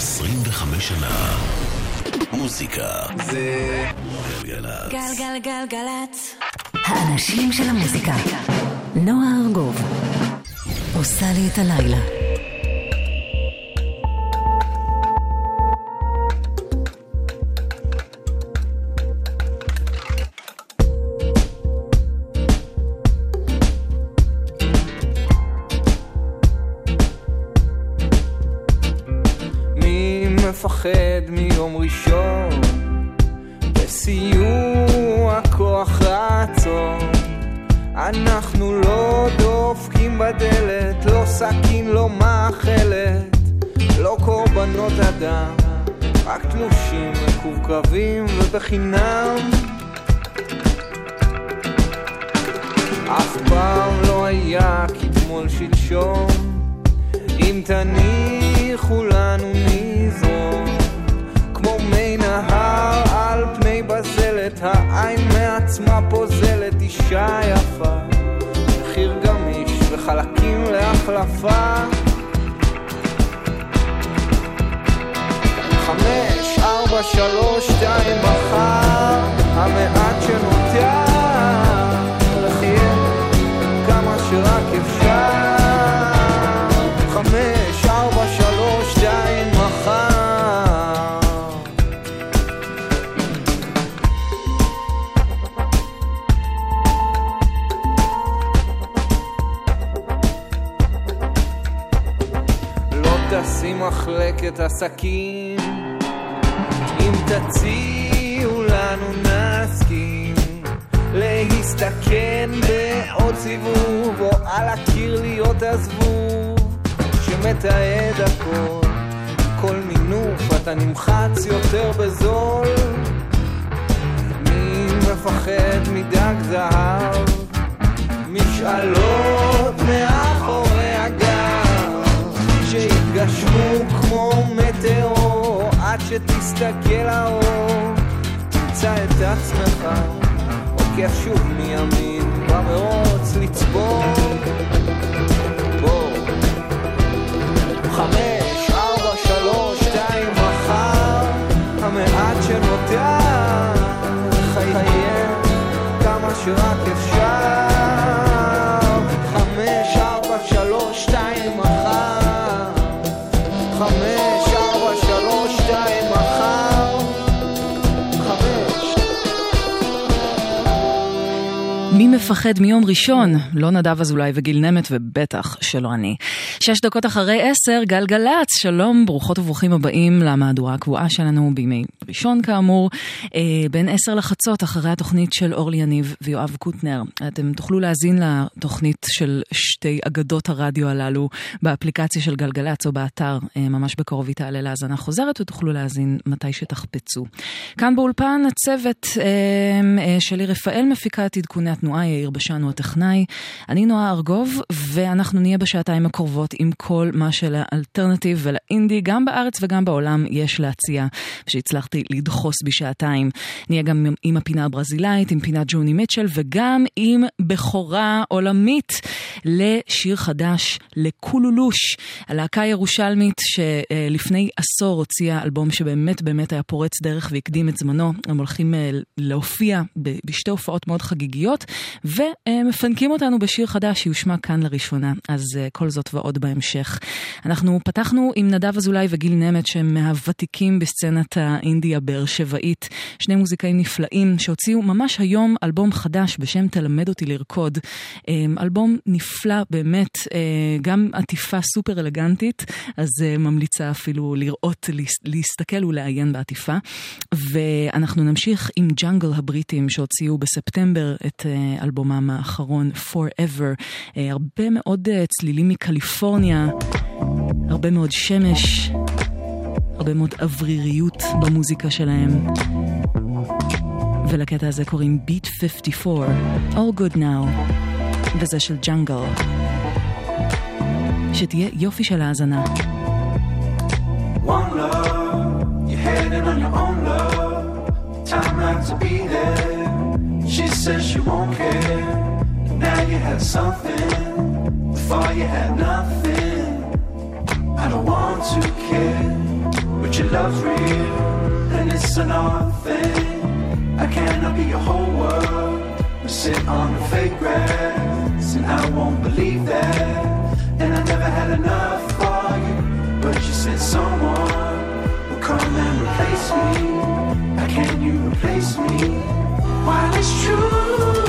25 שנה. מוזיקה זה גלגלצ. גלגלגלגלצ. האנשים של המוזיקה. נועה ארגוב עושה לי את הלילה. מפחד מיום ראשון בסיוע כוח רצון. אנחנו לא דופקים בדלת, לא סכין, לא מאכלת, לא קורבנות אדם, רק תלושים מקורקבים ובחינם. אף פעם לא היה כתמול שלשום, אם תניחו לנו נזרום כמו מי נהר על פני בזלת. העין מעצמה פוזלת, אישה יפה, מחיר גמיש וחלקים להחלפה. 5, 4, 3, 2 מחר, המעט שנותר לחיה כמה שרק אפשר. 5, 4, 3, 2 מחר. לא תשים מחלקת עסקים, אם תציעו לנו נסכים להסתכן בעוד סיבוב, או על הקיר להיות הזבוב שמתעד הכל. כל מינוף אתה נמחץ יותר בזול. מי מפחד מדג זהב, משאלות מאחורי הגב שהתגשמו כמו מטאור. עד שתסתכל האור תמצא את עצמך עוקף שוב מימין במרוץ לצבור. 5, 4, 3, 2 מחר, המעט שנותר חיים כמה שרק אפשר. 5, 4, 3, 2 מחר, 5, 4, 3, 2 מחר, 5. מי מפחד מיום ראשון? לא נדב אזולאי וגיל נמת, ובטח שלא אני. 6 דקות אחרי 10, גלגלצ. שלום, ברוכות וברוכים הבאים למהדורה הקבועה שלנו בימי ראשון כאמור, בין 10 לחצות, אחרי התוכנית של אורלי יניב ויואב קוטנר. אתם תוכלו להזין לתוכנית של שתי אגדות הרדיו הללו באפליקציה של גלגלצ או באתר, ממש בקרוב היא תעלה להזנה חוזרת, ותוכלו להזין מתי שתחפצו. כאן באולפן הצוות שלי רפאל מפיקה את עדכוני התנועה, יאיר בשן הוא הטכנאי, אני נועה ארגוב, ואנחנו נהיה בשעתיים הקרובות עם כל מה שלאלטרנטיב ולאינדי, גם בארץ וגם בעולם יש להציע, שהצלחתי לדחוס בשעתיים. נהיה גם עם הפינה הברזילאית, עם פינת ג'וני מיטשל, וגם עם בחורה עולמית לשיר חדש, לקולולוש, הלהקה ירושלמית שלפני עשור הוציאה אלבום שבאמת באמת היה פורץ דרך והקדים את זמנו. הם הולכים להופיע בשתי הופעות מאוד חגיגיות, ומפנקים אותנו בשיר חדש שיושמע כאן לראשונה. אז כל זאת ועוד בהמשך. אנחנו פתחנו עם נדב אזולאי וגיל נמת, שהם מהוותיקים בסצנת האינדיה באר שבעית, שני מוזיקאים נפלאים שהוציאו ממש היום אלבום חדש בשם תלמד אותי לרקוד. אלבום נפלא באמת, גם עטיפה סופר אלגנטית, אז ממליצה אפילו לראות, להסתכל ולעיין בעטיפה. ואנחנו נמשיך עם ג'אנגל הבריטים שהוציאו בספטמבר את אלבומם האחרון Forever. הרבה מאוד צלילים מקליפורניה, הרבה מאוד שמש, הרבה מאוד אווריריות במוזיקה שלהם. ולקטע הזה קוראים Beat 54, All Good Now, וזה של ג'אנגל. שתהיה יופי של האזנה. One love, you're heading on your own love, time not to be there, she says she won't care, now you had something, before you had nothing, I don't want to care. your love's real, then it's another thing. I cannot be your whole world. We sit on the fake grass, and I won't believe that. And I never had enough for you, but you said someone will come and replace me. How can you replace me? While it's true,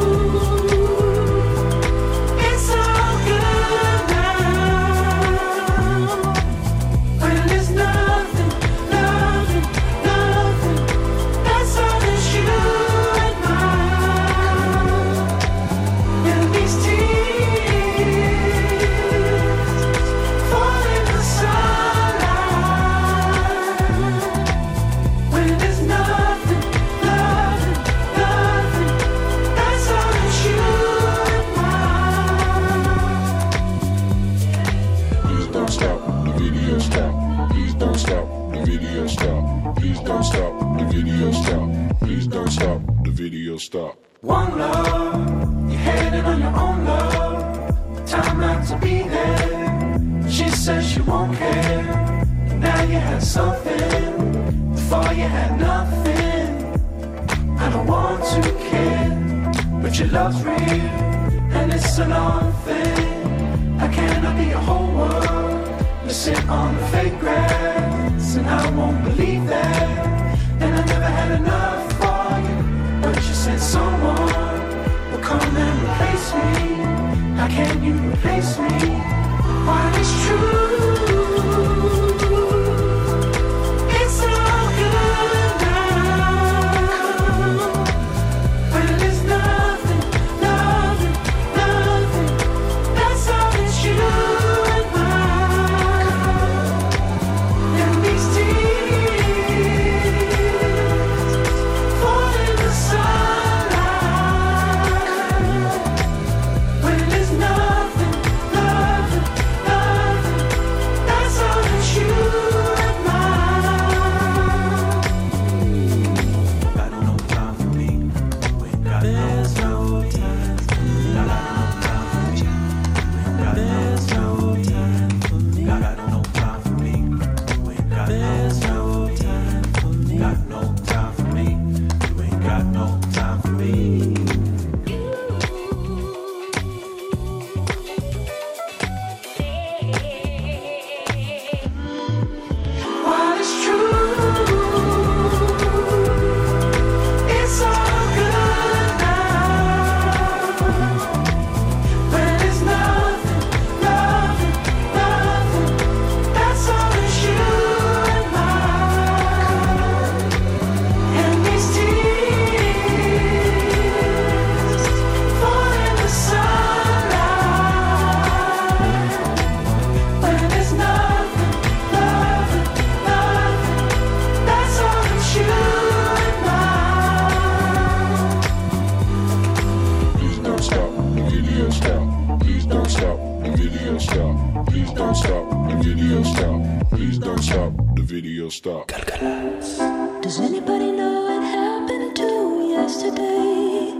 it's all good now. When there's nothing, nothing, nothing, that's all that you admire. And these tears fall in the sunlight. When there's nothing, nothing, nothing, that's all that you admire. Please don't stop the video stop. Please don't stop the video stop. Please don't stop the video stop. Please don't stop the video stop. One love, you're headed on your own love. Time not to be there. She says she won't care. And now you had something. Before you had nothing. I don't want to care, but your love's real, and it's another thing. I cannot be your whole world. You sit on the fake grass, and I won't believe that. And I never had enough for you, but you said someone will come and replace me. How can you replace me? While it's true, it's all good now. When there's nothing, nothing, nothing, that's all that you admire. And these tears fall in the sunlight. When there's nothing, nothing, nothing, that's all that you admire. Got no time for me. We ain't got no time for me. Got no time for me. We ain't got no time for me. Got no time for me. We ain't got no time for me. Got no time for me. You ain't got no time for me. While it's true, it's all good now. When there's nothing, nothing, nothing, that's all that you admire. And these tears fall in the sunlight. When there's nothing, nothing, nothing, that's all that you admire. Please don't stop the video stop. Please don't stop the video stop. Please don't stop the video stop. Please don't stop the video stop. Does anybody know what happened to yesterday?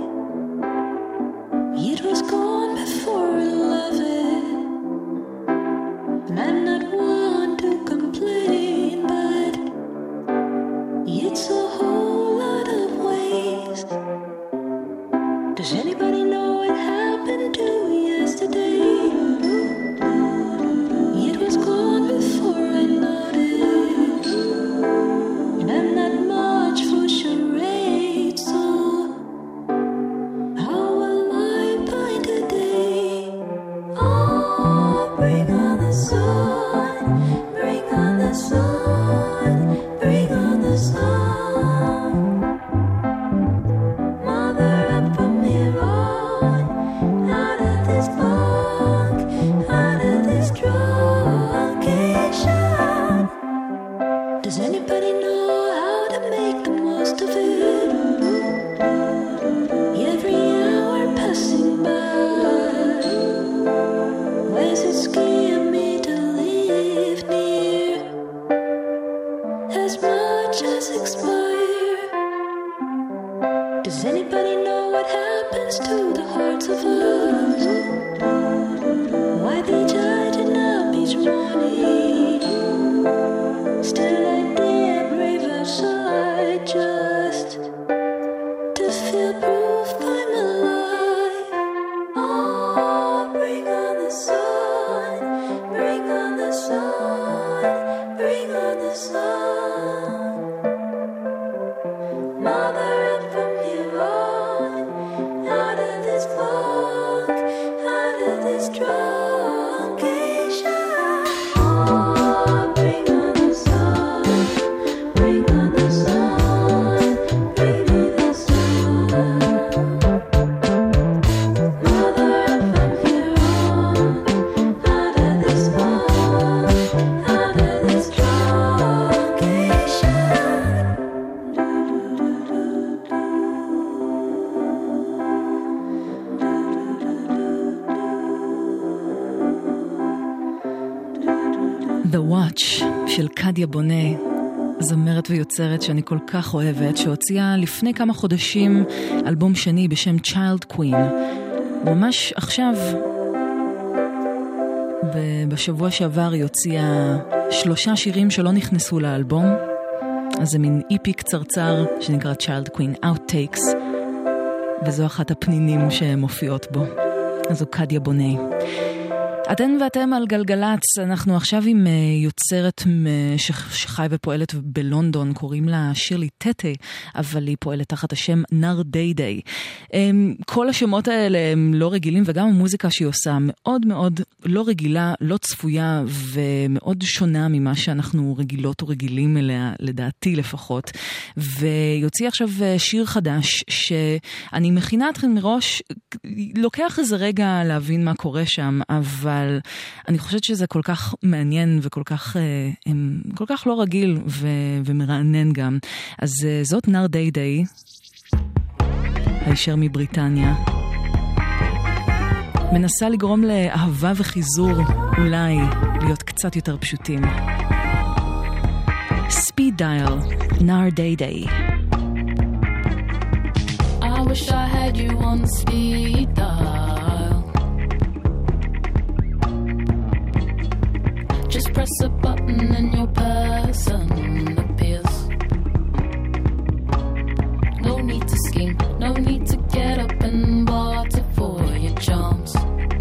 It was gone before 11. And I'm not one to complain, but it's a whole lot of waste. Does anybody know what happened to yesterday? It was gone before I noticed. And I'm not much for charades, so קדיה בונה, זמרת ויוצרת שאני כל כך אוהבת, שהוציאה לפני כמה חודשים אלבום שני בשם Child Queen. ממש עכשיו, בשבוע שעבר היא הוציאה 3 שירים שלא נכנסו לאלבום, אז זה מין איפי קצרצר שנקרא Child Queen Outtakes, וזו אחת הפנינים שמופיעות בו. אז זו קדיה בונה. אתן ואתם על גלגלץ, אנחנו עכשיו עם יוצרת שחי ופועלת בלונדון, קוראים לה שירלי טטה, אבל היא פועלת תחת השם נר די די. כל השמות האלה הם לא רגילים, וגם המוזיקה שהיא עושה מאוד מאוד לא רגילה, לא צפויה, ומאוד שונה ממה שאנחנו רגילות ורגילים אליה, לדעתי לפחות. ויוציא עכשיו שיר חדש, שאני מכינה אתכם מראש, לוקח איזה רגע להבין מה קורה שם, אבל אני חושבת שזה כל כך מעניין וכל כך, כל כך לא רגיל ומרענן גם. אז זאת נר די די, הישר מבריטניה. מנסה לגרום לאהבה וחיזור, אולי להיות קצת יותר פשוטים. ספיד דייל, נר די די. I wish I had you on speed dial. Just press a button and your person appears. No need to scheme, no need to get up and barter for your charms.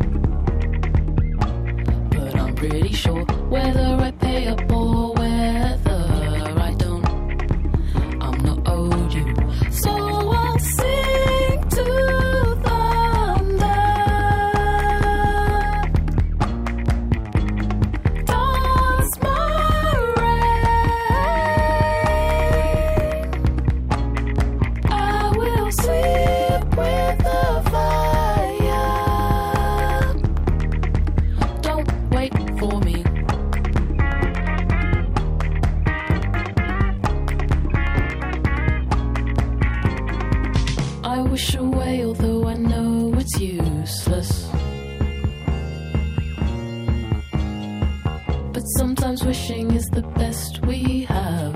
But I'm pretty sure whether I pay up or whether I don't, I'm not owed you. So I'll sing to thunder. Dance my rain. I will sleep with the fire. Don't wait for me. I wish away, although I know it's useless. But sometimes wishing is the best we have.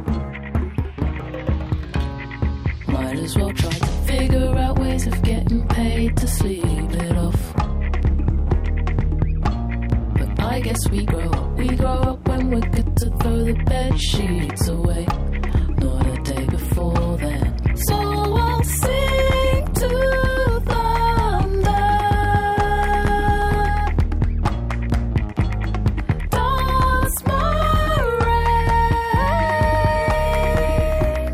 Might as well try to figure out ways of getting paid to sleep it off. But I guess we grow up when we're good to throw the bed sheets away. Not a day before then. So I'll sing to thunder. Dance my rain.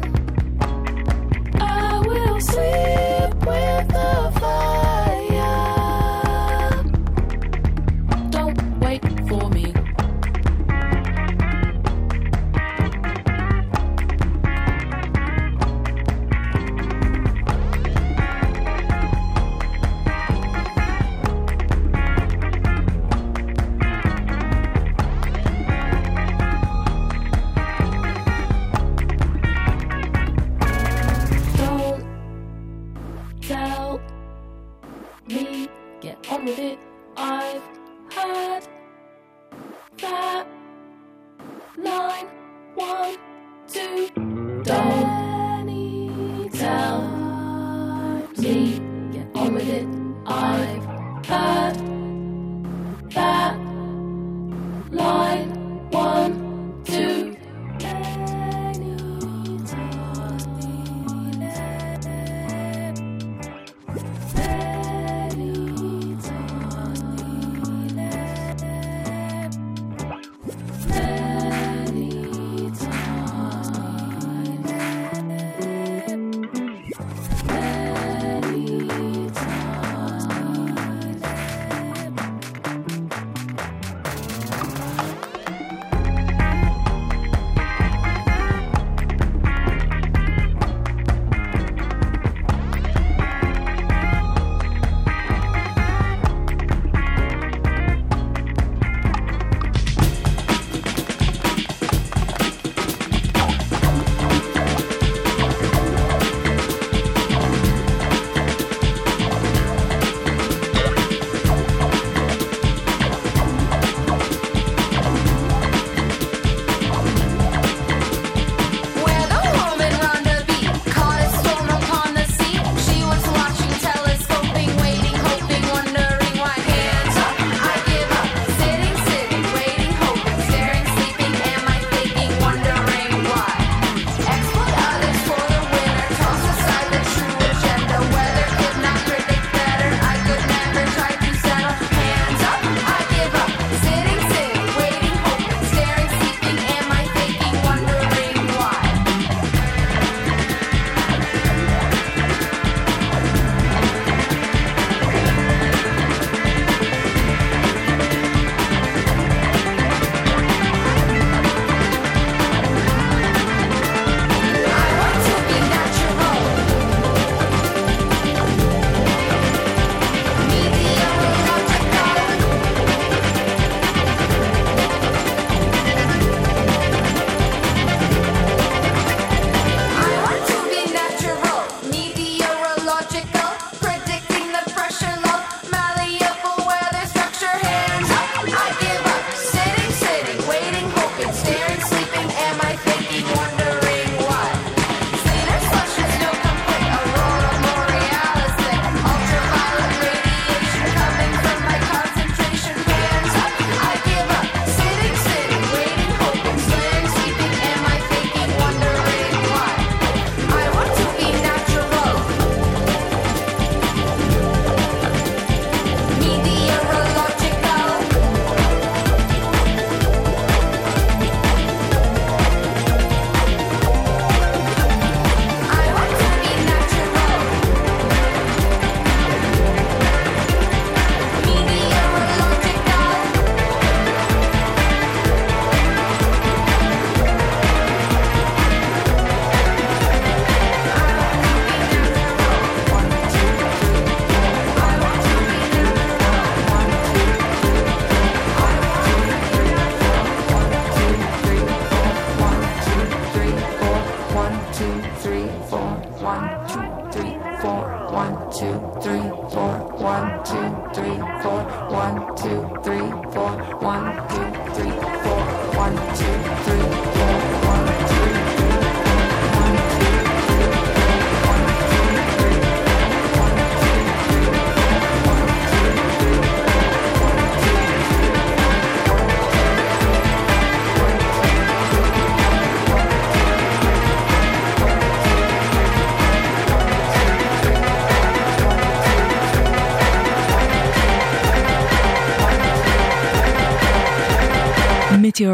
I will sleep with the fire. Don't wait for me. Don't tell me, get on with it. I've heard that line 1, 2. Don't tell me, get on with it. I've heard that line 1, 2.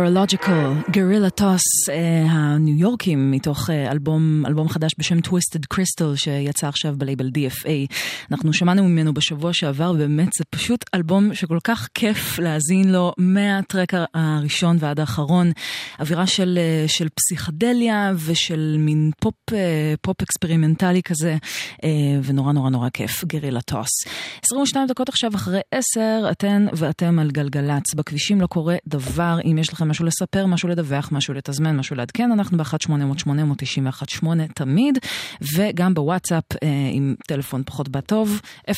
Neurological, Guerrilla Toss, הניו יורקים, מתוך אלבום חדש בשם Twisted Crystal, שיצא עכשיו בלייבל DFA. אנחנו שמענו ממנו בשבוע שעבר, ובאמת זה פשוט אלבום שכל כך כיף להאזין לו, מהטרק הראשון ועד האחרון, אווירה של פסיכדליה, ושל מין פופ אקספרימנטלי כזה, ונורא נורא נורא כיף, Guerrilla Toss. 22 דקות עכשיו אחרי 10, אתן ואתם על גלגלץ. בכבישים לא קורה דבר. אם יש לכם משהו לספר, משהו לדווח, משהו לתזמן, משהו לעדכן, אנחנו ב-1-800-891-8 תמיד, וגם בוואטסאפ עם טלפון פחות בטוב, 052-90-2002.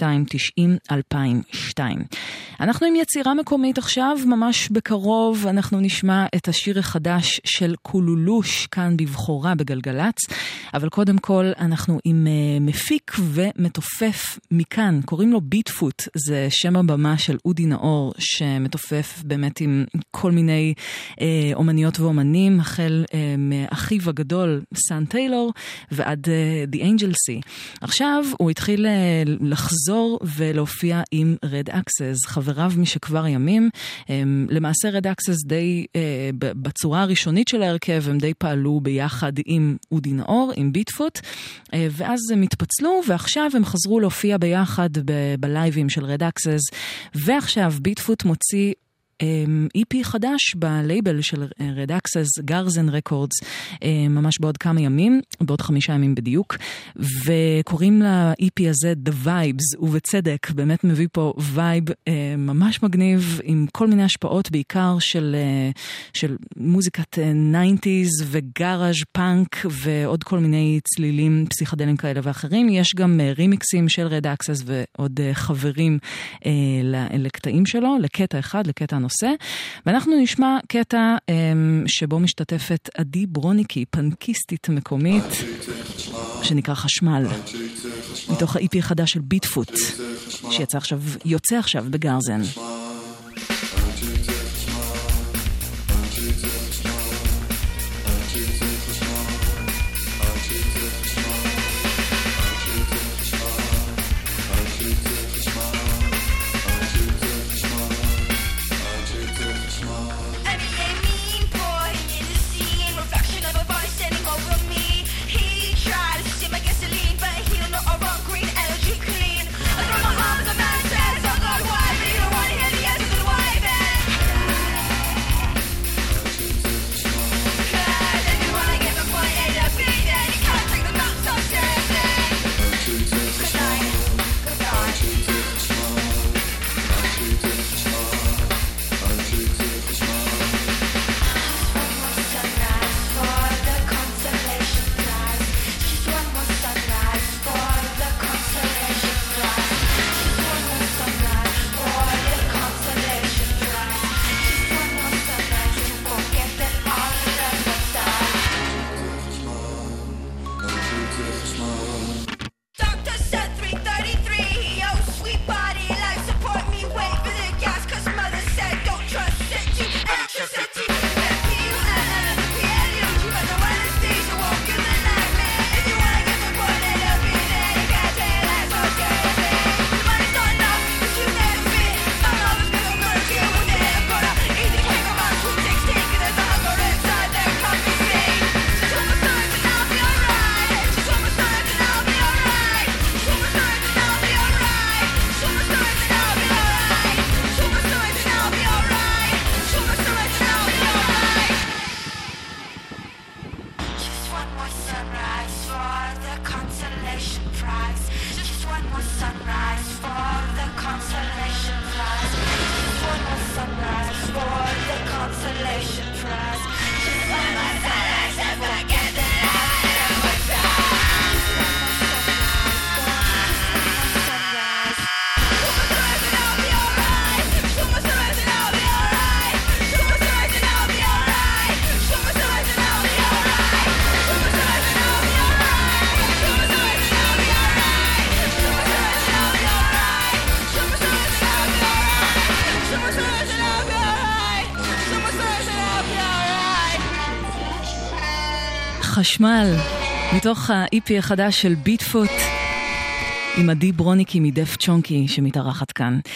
אנחנו עם יצירה מקומית עכשיו, ממש בקרוב אנחנו נשמע את השיר החדש של קולולוש, כאן בבחורה בגלגלץ, אבל קודם כל אנחנו עם מפיק ומתופף מכאן, קוראים לו ביטפוט, זה שם הבמה של אודי נאור, שמתופף באמת עם כל מיני אומניות ואומנים, החל מאחיו הגדול סן טיילור ועד The Angel Sea. עכשיו הוא התחיל לחזור ולהופיע עם Red Access, חבריו משכבר ימים. למעשה Red Access די בצורה הראשונית של ההרכב, הם די פעלו ביחד עם אודי נאור, עם ביטפוט, ואז הם התפצלו, ועכשיו הם חזרו להופיע ביחד בלייבים של Red Access, ועכשיו ביטפוט מוציא EP חדש בלייבל של Red Access, גרזן רקורדס, ממש בעוד כמה ימים, בעוד 5 ימים בדיוק, וקוראים ל-EP הזה The Vibes, ובצדק, באמת מביא פה וייב ממש מגניב, עם כל מיני השפעות, בעיקר של מוזיקת 90s וגראז' פאנק, ועוד כל מיני צלילים פסיכדליים כאלה ואחרים. יש גם רימיקסים של Red Access ועוד חברים לקטעים שלו, לקטע אחד, לקטע הנושא, ואנחנו נשמע קטע שבו משתתפת עדי ברוניקי, פנקיסטית מקומית, שנקרא חשמל, מתוך ה-EP החדש של ביטפוט, שיוצא עכשיו בגרזן. חשמל, מתוך ה-EP החדש של ביטפוט, עם עדי ברוניקי מדף צ'ונקי שמתארחת כאן.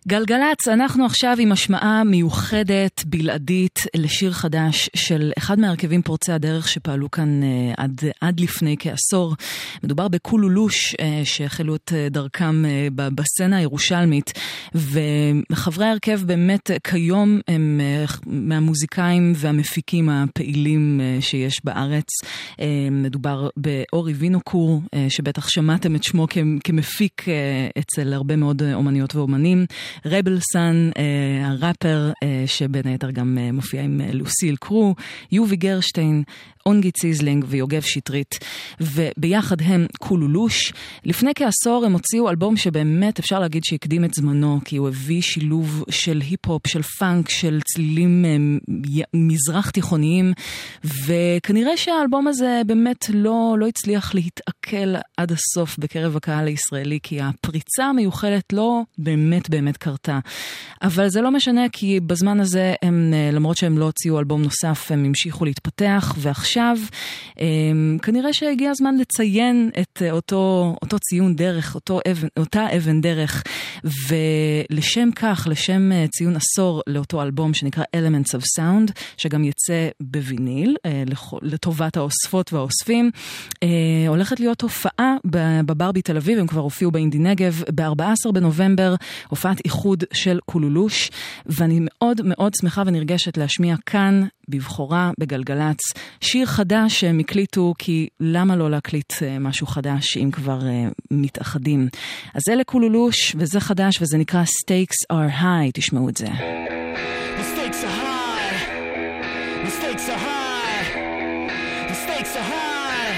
גלגלץ, אנחנו עכשיו עם השמעה מיוחדת, בלעדית, לשיר חדש של אחד מהרכבים פורצי הדרך שפעלו כאן עד לפני כעשור. מדובר בקולולוש שהחלו את דרכם בסצנה הירושלמית, וחברי ההרכב באמת כיום הם מהמוזיקאים והמפיקים הפעילים שיש בארץ. מדובר באורי וינוקור, שבטח שמעתם את שמו כמפיק אצל הרבה מאוד אומניות ואומנים. רבל סן, הראפר, שבין היתר גם מופיע עם לוסיל קרו, יובי גרשטיין, אונגי ציזלינג ויוגב שטרית, וביחד הם קולולוש. לפני כעשור הם הוציאו אלבום שבאמת אפשר להגיד שהקדים את זמנו, כי הוא הביא שילוב של היפ-הופ, של פאנק, של צלילים מזרח תיכוניים, וכנראה שהאלבום הזה באמת לא הצליח להתעכל עד הסוף בקרב הקהל הישראלי, כי הפריצה המיוחדת לא באמת קרתה. אבל זה לא משנה, כי בזמן הזה הם, למרות שהם לא הוציאו אלבום נוסף, הם המשיכו להתפתח, ועכשיו כנראה שהגיע הזמן לציין את אותו ציון דרך, אותה אבן דרך, ולשם כך, לשם ציון עשור לאותו אלבום שנקרא Elements of Sound, שגם יצא בוויניל, לטובת האוספות והאוספים, הולכת להיות הופעה בברבי תל אביב, הם כבר הופיעו באינדי נגב, ב-14 בנובמבר, הופעת איחוד של קולולוש, ואני מאוד מאוד שמחה ונרגשת להשמיע כאן, בבחורה, בגלגלץ, שיר חדש שהם הקליטו, כי למה לא להקליט משהו חדש אם כבר מתאחדים. אז זה לקולולוש, וזה חדש, וזה נקרא Stakes are high, תשמעו את זה. The stakes are high. The stakes are high. The stakes are high.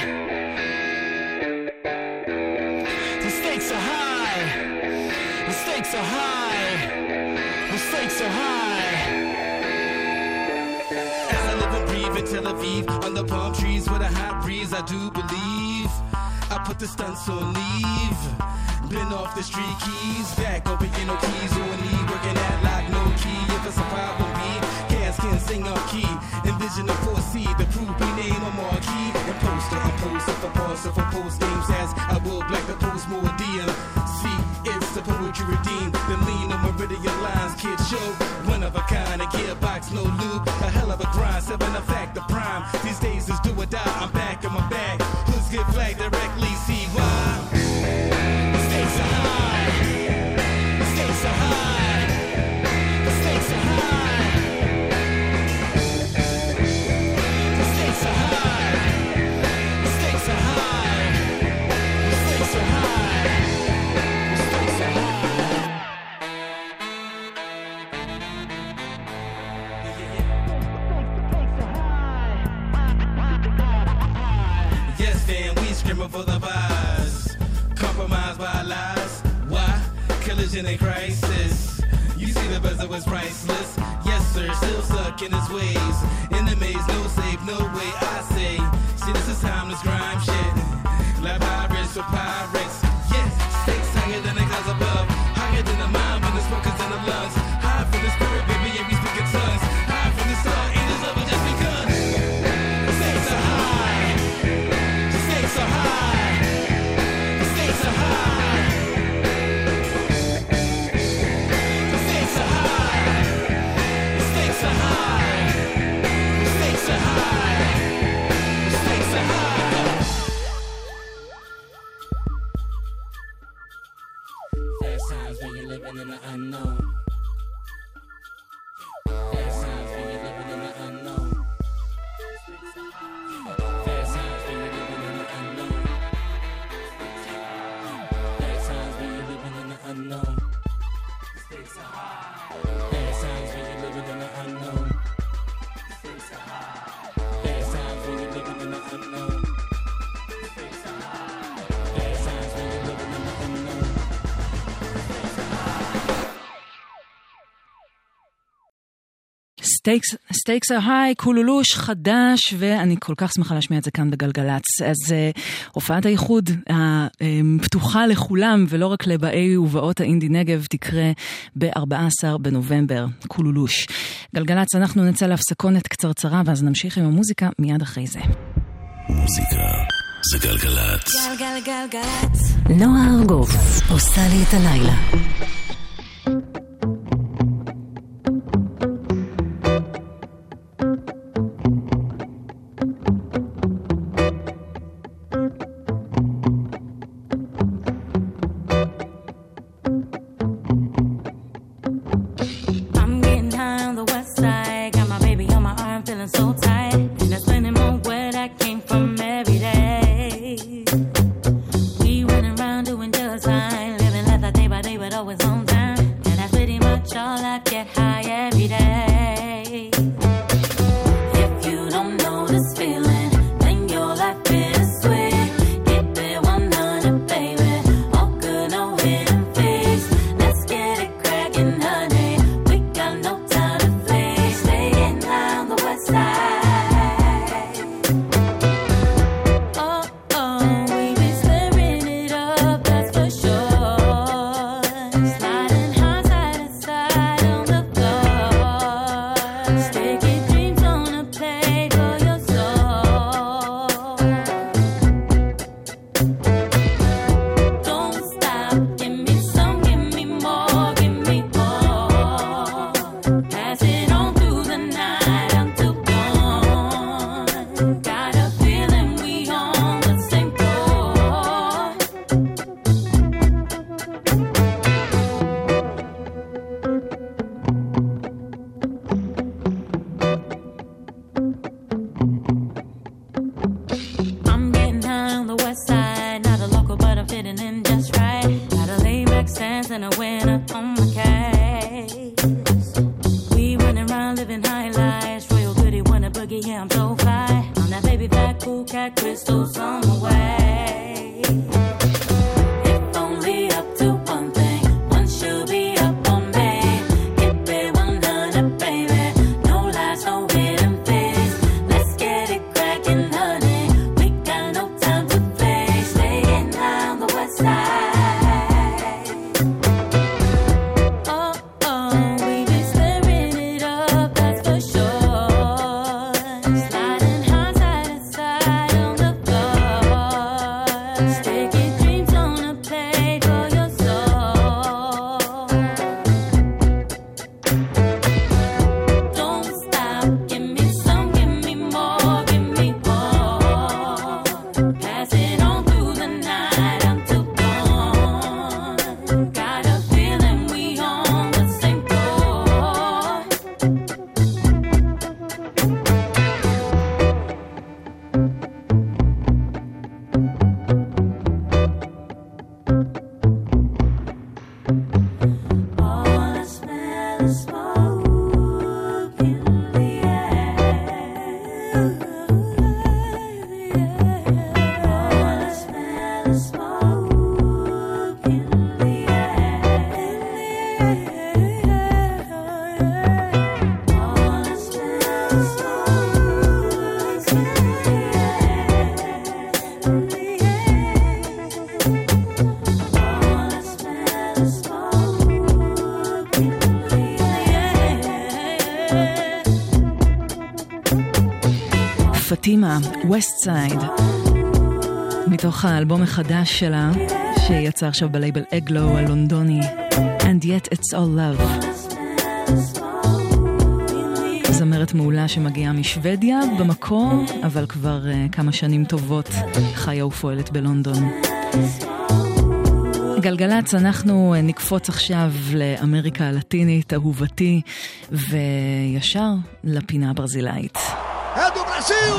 The stakes are high. The stakes are high. The stakes are high. As I live and breathe in Tel Aviv, under palm trees with a hot breeze, I do believe I put the stunts on leave. Been off the street keys, back up again, no keys on knee, working at like no key. If it's a problem, be cats can sing on key. Envision the 4C, the proof be name a marquee. And poster, I'm posted for parcel for post games as I will black the post more DM. See, it's the poetry redeemed. The lean of meridian lines, kid show. One of a kind, a gearbox, no loop. A hell of a grind, 7 a fact, the prime. These days is do or die, I'm back in my bag. Hoods get flagged directly, see why? The stakes are high. The stakes are high. The stakes are high. The stakes are high. The stakes are high. The stakes are high. The stakes are high. Yes, then we screaming for the vibes. Compromised by lies. Why? Collision and crisis. You see the bezel was priceless. Yes, sir, still stuck in his ways. In the maze, no safe, no way. I say, see, this is timeless grime shit. Like pirates for pirates. Yes, stakes higher than the clouds above. Higher than the mind when the smoke is in the lungs. High from the spirit, baby, and we speak in tongues. High from the sun, angels love has just begun. The stakes are high. The stakes are high. The stakes are high. The stakes are high. The stakes are high. The stakes are high. The stakes are high. Fast times when you're living in the unknown. Fast times when you're living in the unknown. Fast times when you're living in the unknown. Fast times when you're living in the unknown. Fast times when you're living in the unknown. Fast times when you're living in the unknown. Fast times when you're living in the unknown. Stakes are high, קולולוש חדש, ואני כל כך שמחה להשמיע את זה כאן בגלגלץ. אז הופעת הייחוד הפתוחה לכולם, ולא רק לבאי ובאות האינדי נגב, תקרה ב-14 בנובמבר, קולולוש. גלגלץ, אנחנו נצא להפסקונת קצרצרה, ואז נמשיך עם המוזיקה מיד אחרי זה. מוזיקה זה גלגלץ. גלגלגלגלץ. נועה ארגוב עושה לי את הלילה. so tight, and I spend more where that came from every day. We running around doing just fine, living life like day by day, but always on time. And that's pretty much all I get high every day. If you don't know this feeling, then your life is sweet. Keep it 100, baby. All good, no hidden fees. Let's get it crackin', honey. We got no time to flee. Staying on the west side. Oh, oh, we be stirring it up, that's for sure. Sliding high side to side on the floor. Sticky dreams on a plate for your soul. Don't stop, give me some, give me more, give me more. Pass it on through the night until dawn. Got a feeling we on the same floor. I'm getting high on the west side, not a local, but I'm fitting in just right. Got a laid-back stance and a winner on my case. We running around living high lives, royal goody, wanna boogie, yeah, I'm so fly. I'm that baby fat, cool cat, crystals on the way. If only up to one thing, one should be up on me. Keep it 100, baby, no lies, no hidden fees. Let's get it crackin', honey. We got no time to play. Staying on the west side. Oh, oh, we be stirring it up, that's for sure. Sliding high side to side on the floor. Sticky dreams on a plate for your soul. Don't stop, give me some, give me more, give me more. Pass it on through the night until dawn. Got a feeling we on the same floor. All I smell is smoke in the air. All I smell is smoke in the air. All I smell is smoke in the air. All I smell is smoke in the air. פטימה, ווסט סייד, מתוך האלבום החדש שלה, שיצא עכשיו בלייבל אגלו הלונדוני, And Yet It's All Love. זמרת מעולה שמגיעה משוודיה במקור, אבל כבר כמה שנים טובות חיה ופועלת בלונדון. גלגלץ, אנחנו נקפוץ עכשיו לאמריקה הלטינית, אהובתי, וישר לפינה הברזילאית. É do Brasil!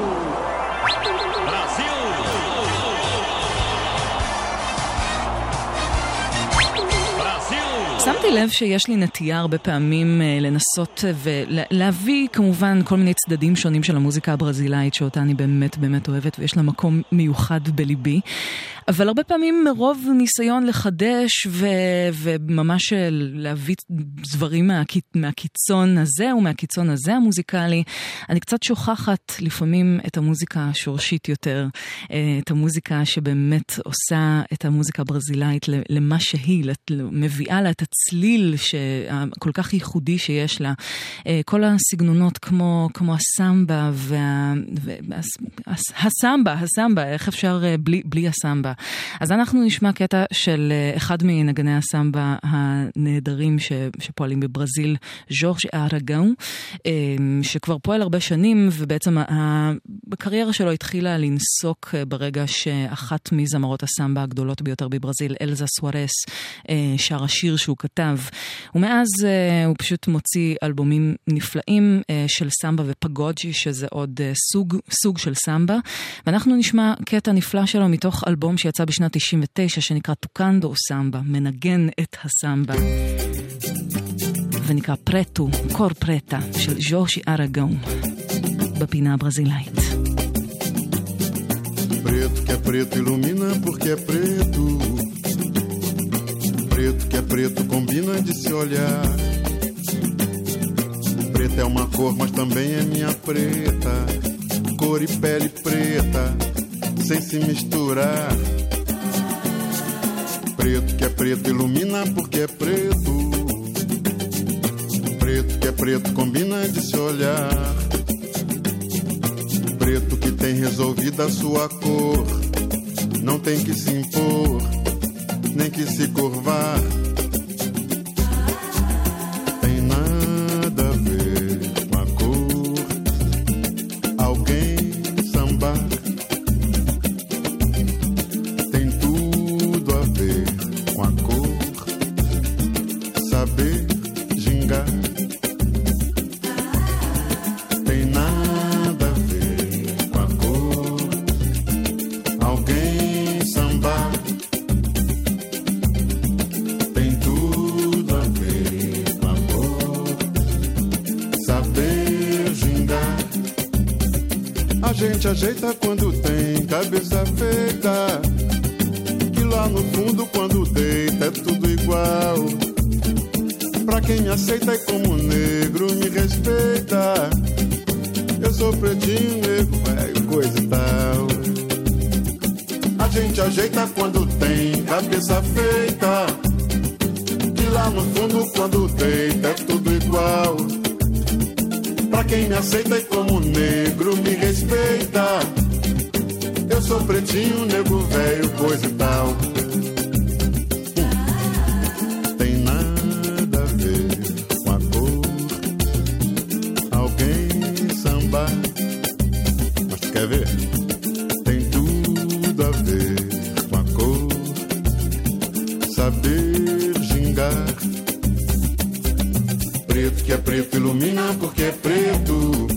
שמתי לב שיש לי נטייה הרבה פעמים לנסות ולהביא כמובן כל מיני צדדים שונים של המוזיקה הברזילאית שאותה אני באמת באמת אוהבת ויש לה מקום מיוחד בליבי, אבל הרבה פעמים מרוב ניסיון לחדש וממש להביא דברים מהקיצון הזה ומהקיצון הזה המוזיקלי, אני קצת שוכחת לפעמים את המוזיקה השורשית יותר, את המוזיקה שבאמת עושה את המוזיקה הברזילאית למה שהיא, מביאה לה את הצליל כל כך ייחודי שיש לה. כל הסגנונות כמו הסמבה הסמבה, איך אפשר בלי הסמבה. אז אנחנו נשמע קטע של אחד מנגני הסמבה הנהדרים שפועלים בברזיל, ז'ורג' אראגאו, שכבר פועל הרבה שנים, ובעצם הקריירה שלו התחילה לנסוק ברגע שאחת מזמרות הסמבה הגדולות ביותר בברזיל, אלזה סוארס, שר השיר שהוא כתב. ומאז הוא פשוט מוציא אלבומים נפלאים של סמבה ופגוג'י, שזה עוד סוג של סמבה. ואנחנו נשמע קטע נפלא שלו מתוך אלבום שיצא בשנת 99, שנקרא טוקנדו סמבה, מנגן את הסמבה. ונקרא פרטו, קור פרטה, של ז'ורז'י אראגון, בפינה הברזילאית. Preto que é preto ilumina porque é preto. Preto que é preto combina de se olhar. Preta é uma cor, mas também é minha preta. Cor e pele preta, sem se misturar. Preto que é preto ilumina porque é preto. Preto que é preto combina de se olhar. Preto que tem resolvida a sua cor, não tem que se impor, nem que se curvar. Tem nada a ver com a cor, alguém sambar. Tem tudo a ver com a cor, saber gingar. Tem nada a ver com a cor, alguém sambar. Tem tudo a ver com a cor, saber gingar. A gente ajeita quando tem cabeça feita, e lá no fundo quando deita é tudo igual. Pra quem me aceita e como negro me respeita, eu sou pretinho, nego, velho, coisa e tal. A gente ajeita quando tem cabeça feita, e lá no fundo quando deita é tudo igual. Pra quem me aceita e como negro me respeita, eu sou pretinho, nego, velho, coisa e tal. Tem nada a ver com a cor, alguém sambar. Mas tu quer ver? Tem tudo a ver com a cor, saber gingar. Preto que é preto ilumina porque é preto.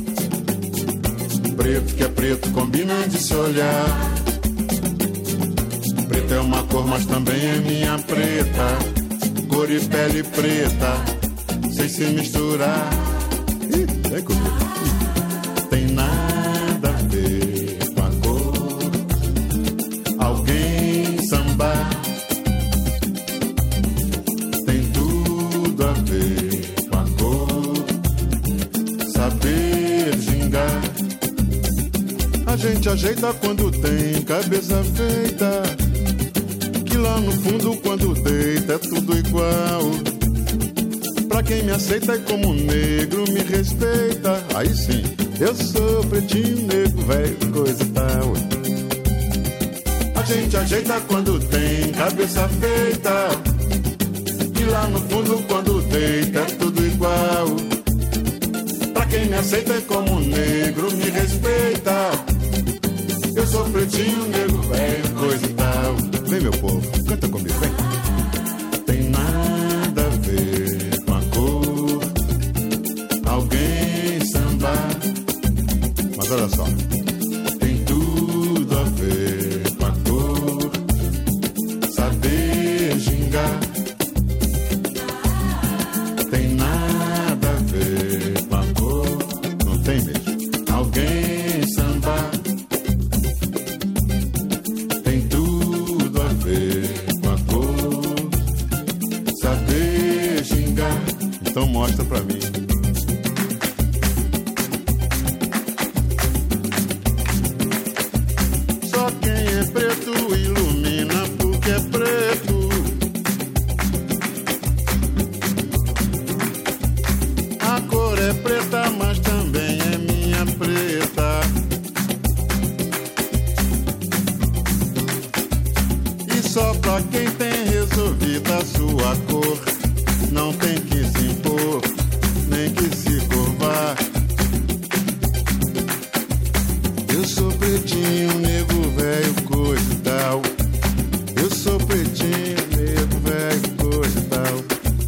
Preto que é preto combina de se olhar. Preto é uma cor, mas também é minha preta. Cor e pele preta, sem se misturar. Vem comigo. Tem nada a ver com a cor, alguém sambar. Tem tudo a ver com a cor, saber gingar. A gente ajeita quando tem cabeça feita, que lá no fundo quando deita é tudo igual. Pra quem me aceita e como negro me respeita, aí sim, eu sou pretinho, negro, velho, coisa e tal. A gente ajeita quando tem cabeça feita, que lá no fundo quando deita é tudo igual. Pra quem me aceita e como negro me respeita, eu sou pretinho, negro, velho, coisa e tal. Vem, meu povo, canta comigo, vem. Tem nada a ver com a cor, alguém sambar. Mas olha só, tem tudo a ver com a cor, saber gingar. Tem nada a ver com a cor, não tem mesmo, alguém sambar. Tem tudo a ver com a cor, saber gingar. Então mostra pra mim. Só quem é preto ilumina porque é preto. A cor é preta, mas também é minha preta. E só pra quem tem resolvida a sua cor, não tem que se impor, nem que se curvar. Eu sou pretinho, nego, velho, coisa e tal. Eu sou pretinho, nego, velho, coisa e tal.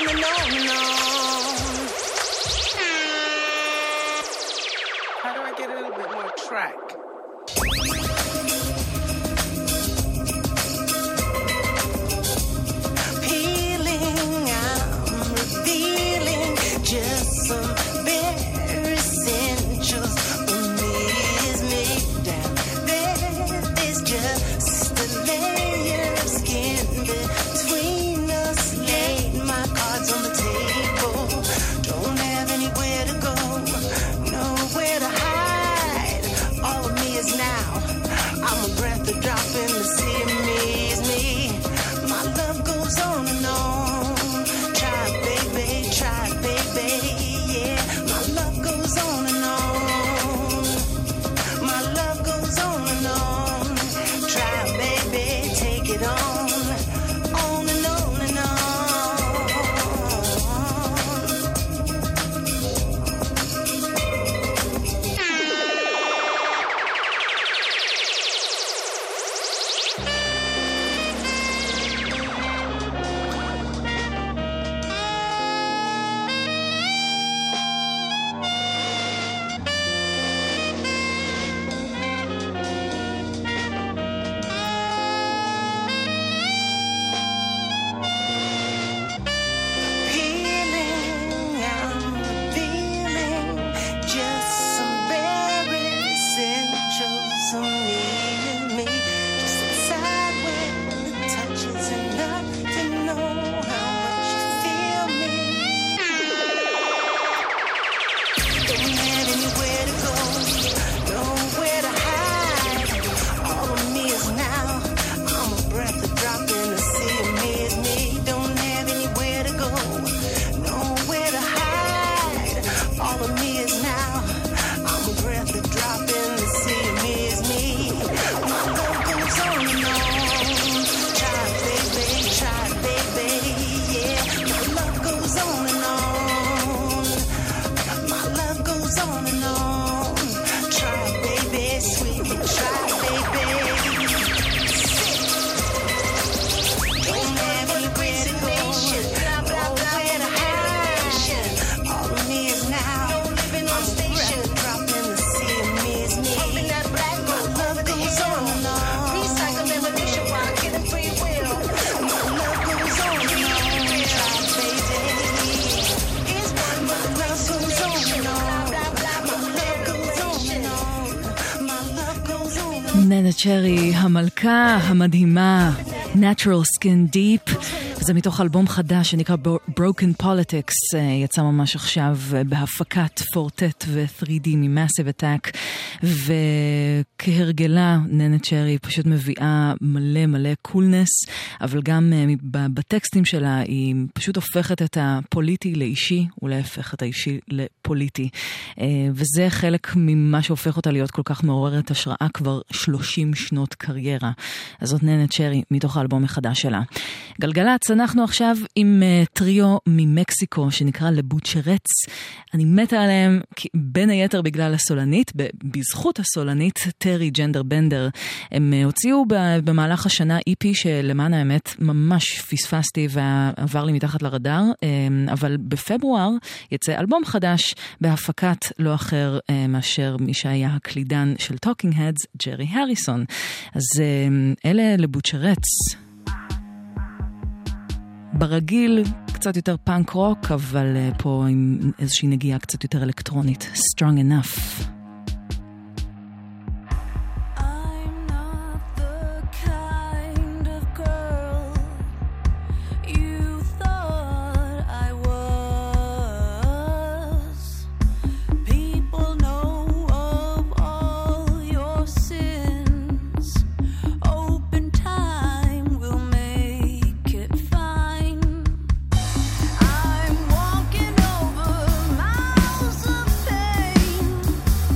and on and on. How do I get a little bit more track? Peeling, I'm revealing just some bare essentials. For me is made down. There is just a layer of skin between us. Laid my cards on the table. Don't have anywhere to go, nowhere to hide. All of me is now. I'm a breath, a drop in the sea of me is me. My love goes on and on. Try it, baby, yeah. My love goes on and on. My love goes on and on. Try it, baby, take it on and on and on. Peeling, I'm revealing just some bare essentials of me and me. Just inside where the touch is enough to know how much you feel me. Don't have anywhere to go, nowhere to hide. All of me is now. I'm a breath, a drop in the sea of me is me. Don't have anywhere to go, nowhere to hide. All of me is now. I'm a breath, a drop in the sea of me is me. My love goes on and on. Try it, baby, yeah. My love goes on and on. My love goes on and on. Try it, baby, sweet, try it, baby. Don't have anywhere to go, nowhere to hide. All of me is now. I'm a breath, a drop in the sea of me is me. My love goes on and on. Recycle evolution while getting free will. My love goes on and on. Try it, baby. My love goes on and on. My love goes on and on. My love goes on and on. ננה צ'רי, המלכה המדהימה, Natural Skin Deep. זה מתוך אלבום חדש שנקרא Broken Politics, יצא ממש עכשיו בהפקת פורטט ו-3D מ-Massive Attack, וכהרגלה ננה צ'רי פשוט מביאה מלא מלא קולנס, אבל גם בטקסטים שלה היא פשוט הופכת את הפוליטי לאישי, ולהפך את האישי לפוליטי, וזה חלק ממה שהופך אותה להיות כל כך מעוררת השראה כבר 30 שנות קריירה. אז זאת ננה צ'רי מתוך האלבום החדש שלה. גלגלצ, אנחנו עכשיו עם טריו ממקסיקו שנקרא לבוצ'רץ. אני מתה עליהם בין היתר בגלל הסולנית, בזכות הסולנית טרי ג'נדר בנדר. הם הוציאו במהלך השנה EP שלמען האמת ממש פספסתי ועבר לי מתחת לרדאר, אבל בפברואר יצא אלבום חדש בהפקת לא אחר מאשר מי שהיה הקלידן של Talking Heads, ג'רי הריסון. אז אלה לבוצ'רץ. ברגיל קצת יותר פאנק רוק, אבל פה עם איזושהי נגיעה קצת יותר אלקטרונית. Strong Enough. I'm walking over miles of pain.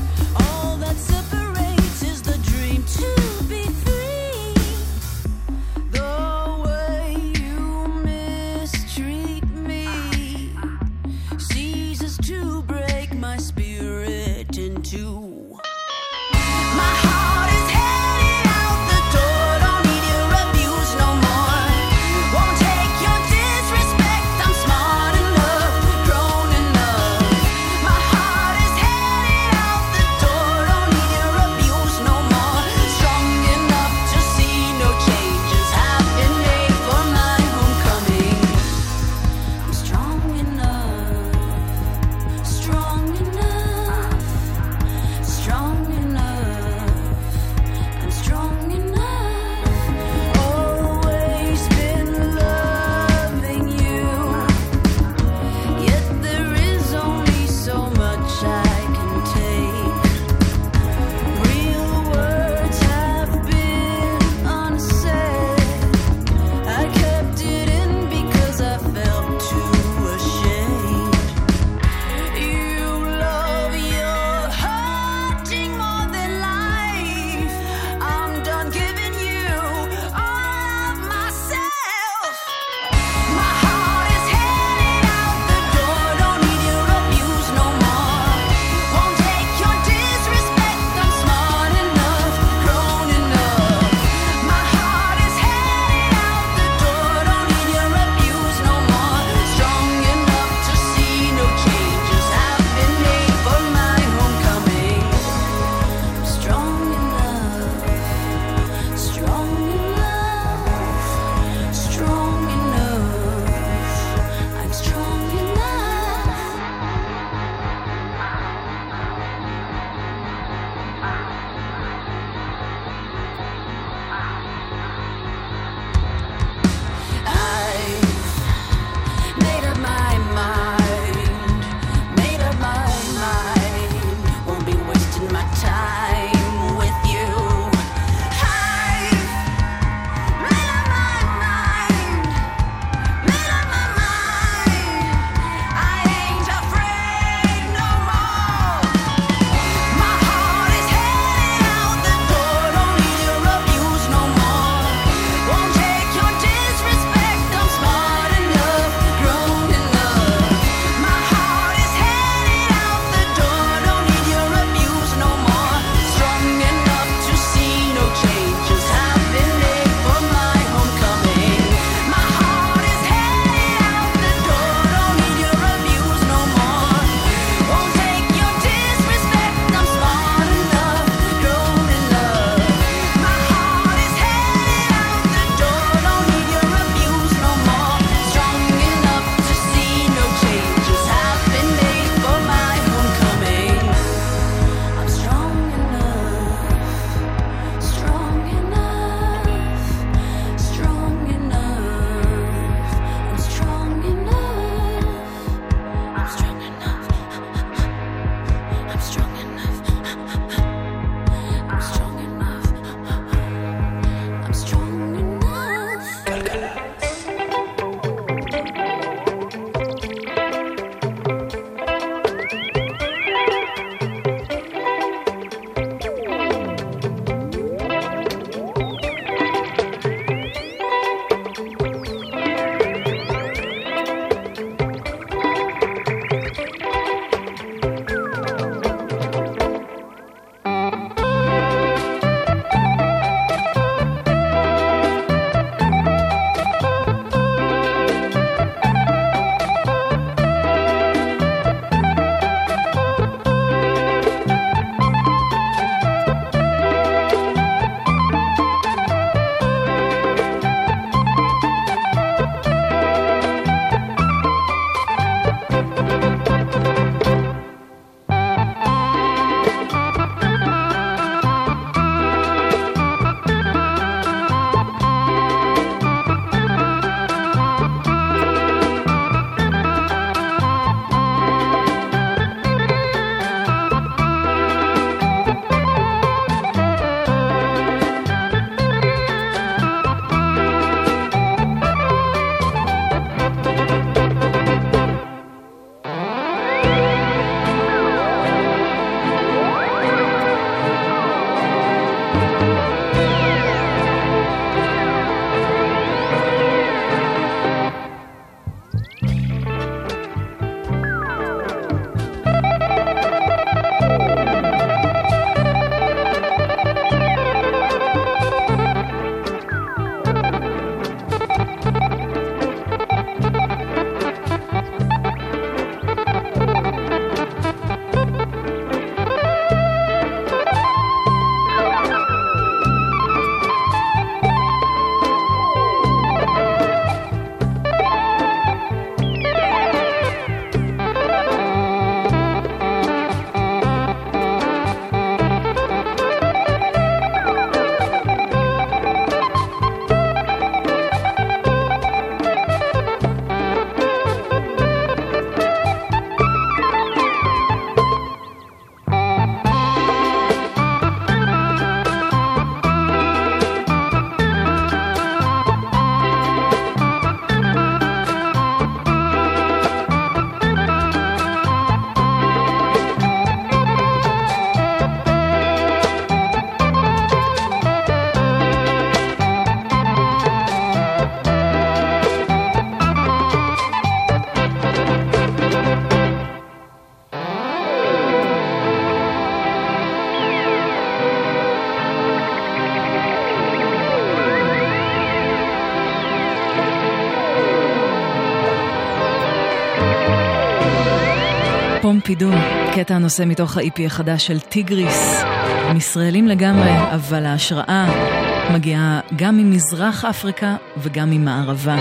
פומפידו, קטע הנושא מתוך ה-EP החדש של טיגריס. הם ישראלים לגמרי, אבל ההשראה מגיעה גם ממזרח אפריקה וגם ממערבה.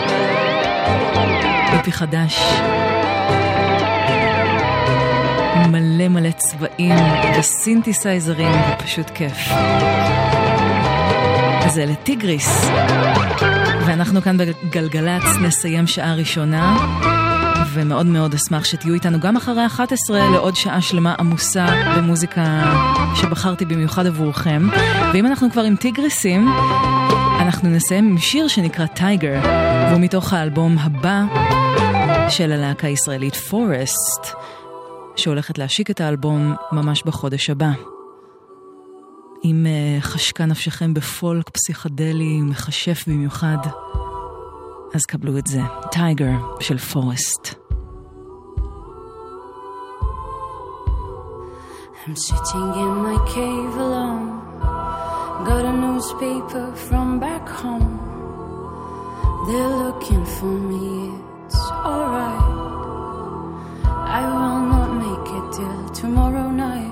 EP חדש, מלא מלא צבעים וסינתסייזרים, ופשוט כיף. זה לטיגריס, ואנחנו כאן בגלגלץ נסיים שעה ראשונה, ומאוד מאוד אשמח שתהיו איתנו גם אחרי 11 לעוד שעה שלמה עמוסה במוזיקה שבחרתי במיוחד עבורכם. ואם אנחנו כבר עם טיגריסים, אנחנו נסיים עם שיר שנקרא טייגר, והוא מתוך האלבום הבא של הלהקה הישראלית פורסט, שהולכת להשיק את האלבום ממש בחודש הבא. אם חשקה נפשכם בפולק פסיכדלי מחשף במיוחד, אז קבלו את זה. טייגר של פורסט. I'm sitting in my cave alone, got a newspaper from back home. They're looking for me, it's alright. I will not make it till tomorrow night.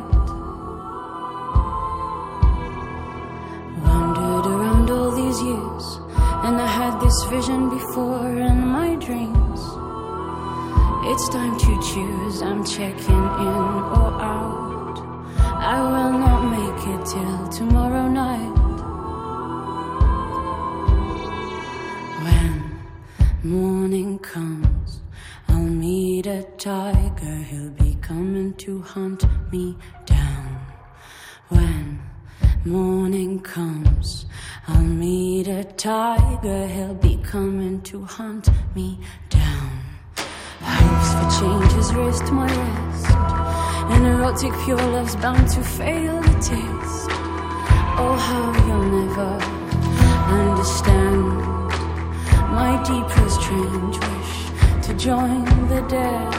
Wandered around all these years, and I had this vision before in my dreams. It's time to choose, I'm checking in or out. I will not make it till tomorrow night. When morning comes, I'll meet a tiger, he'll be coming to hunt me down. When morning comes, I'll meet a tiger, he'll be coming to hunt me down. Hopes for change has raised my rest, and erotic pure love's bound to fail the taste. Oh, how you'll never understand my deepest strange wish to join the dead.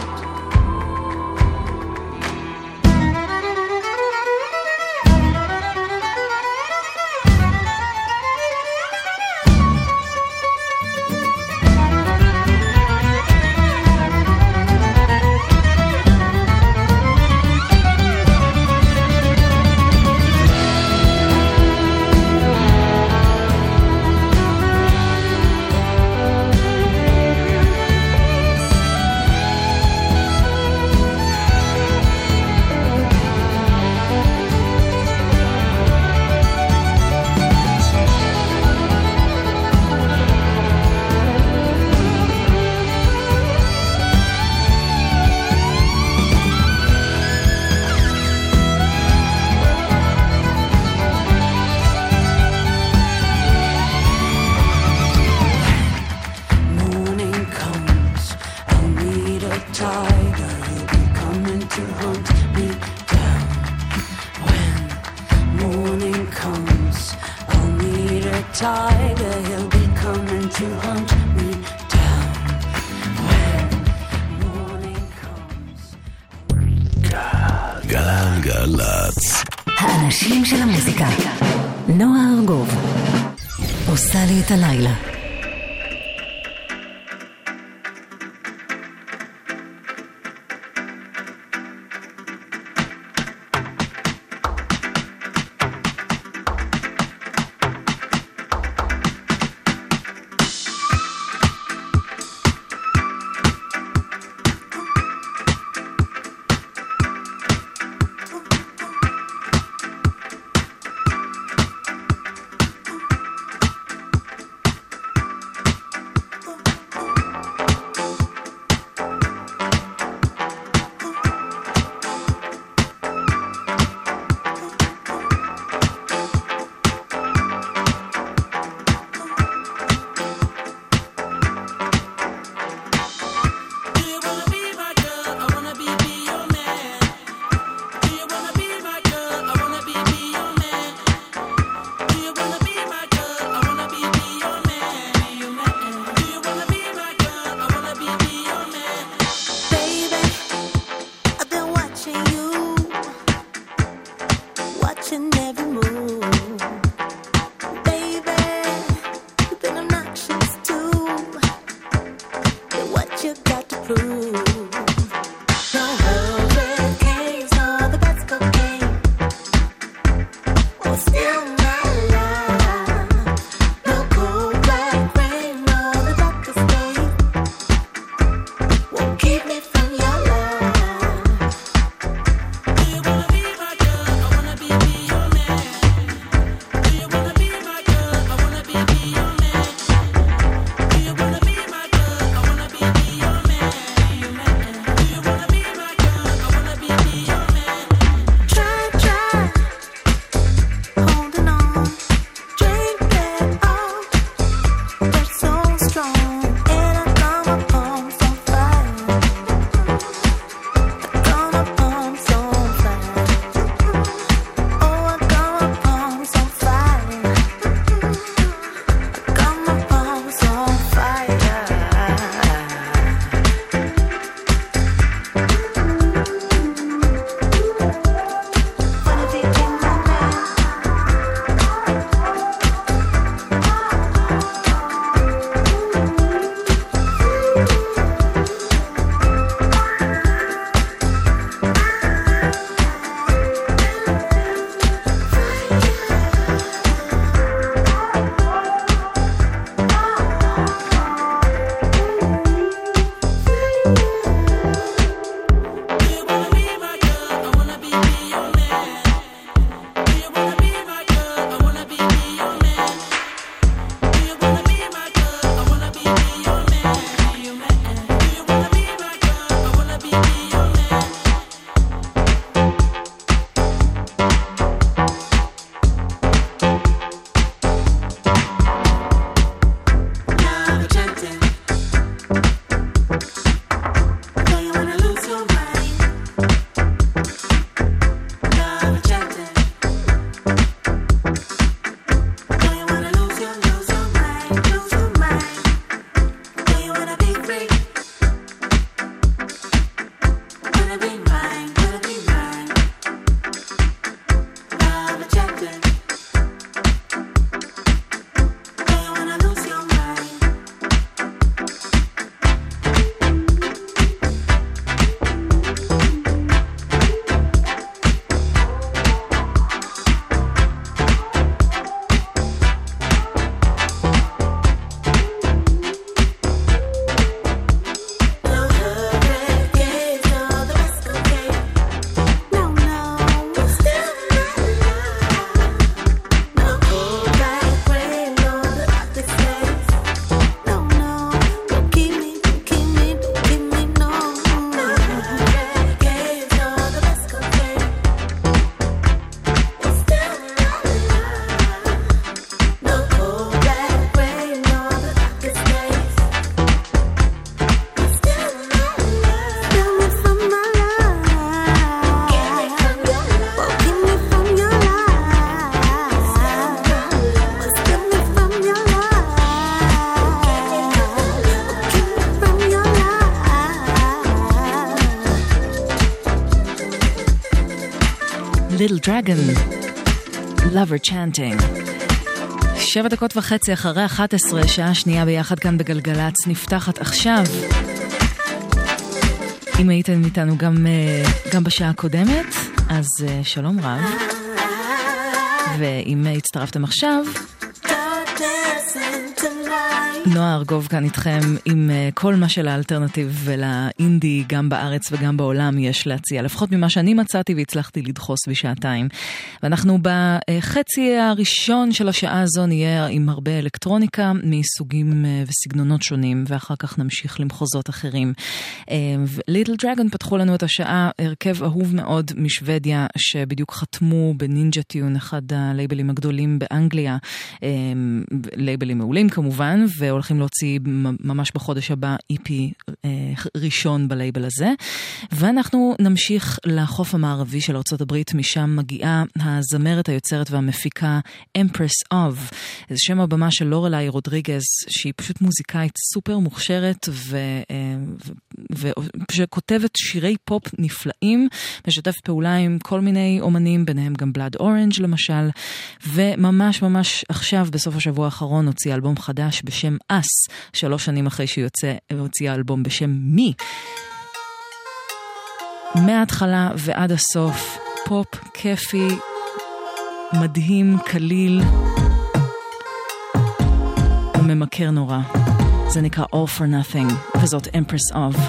גלגלצ. האנשים של המוזיקה. נועה ארגוב עושה לי את הלילה. Little Dragon, Lover Chanting. 7:30 אחרי 11, שעה שנייה ביחד כאן בגלגלץ, נפתחת עכשיו. אם הייתם איתנו גם בשעה הקודמת, אז שלום רב. ואם הצטרפתם עכשיו, נועה ארגוב כאן איתכם עם כל מה של האלטרנטיב ולאינדי, גם בארץ וגם בעולם יש להציע, לפחות ממה שאני מצאתי והצלחתי לדחוס בשעתיים. ואנחנו בחצי הראשון של השעה הזו נהיה עם הרבה אלקטרוניקה מסוגים וסגנונות שונים, ואחר כך נמשיך למחוזות אחרים. ליטל דרגון פתחו לנו את השעה, הרכב אהוב מאוד משוודיה, שבדיוק חתמו בנינג'ה טיון, אחד הלייבלים הגדולים באנגליה, לייבלים מעולים כמובן, והולכים להוציא ממש בחודש הבא EP ראשון בלייבל הזה. ואנחנו נמשיך לחוף המערבי של ארצות הברית, משם מגיעה הזמרת, היוצרת והמפיקה Empress of. זה שם הבמה של לורלי רודריגז, שהיא פשוט מוזיקאית סופר מוכשרת ושכותבת שירי פופ נפלאים, משתף פעולה עם כל מיני אומנים, ביניהם גם בלאד אורנג' למשל, וממש ממש עכשיו בסוף השבוע האחרון הוציאה אלבום חדש בשם אס, 3 שנים אחרי שהיא הוציאה אלבום בשם מי. מההתחלה ועד הסוף, פופ כיפי, מדהים, קליל וממכר נורא. זה נקרא All for Nothing, וזאת Empress of.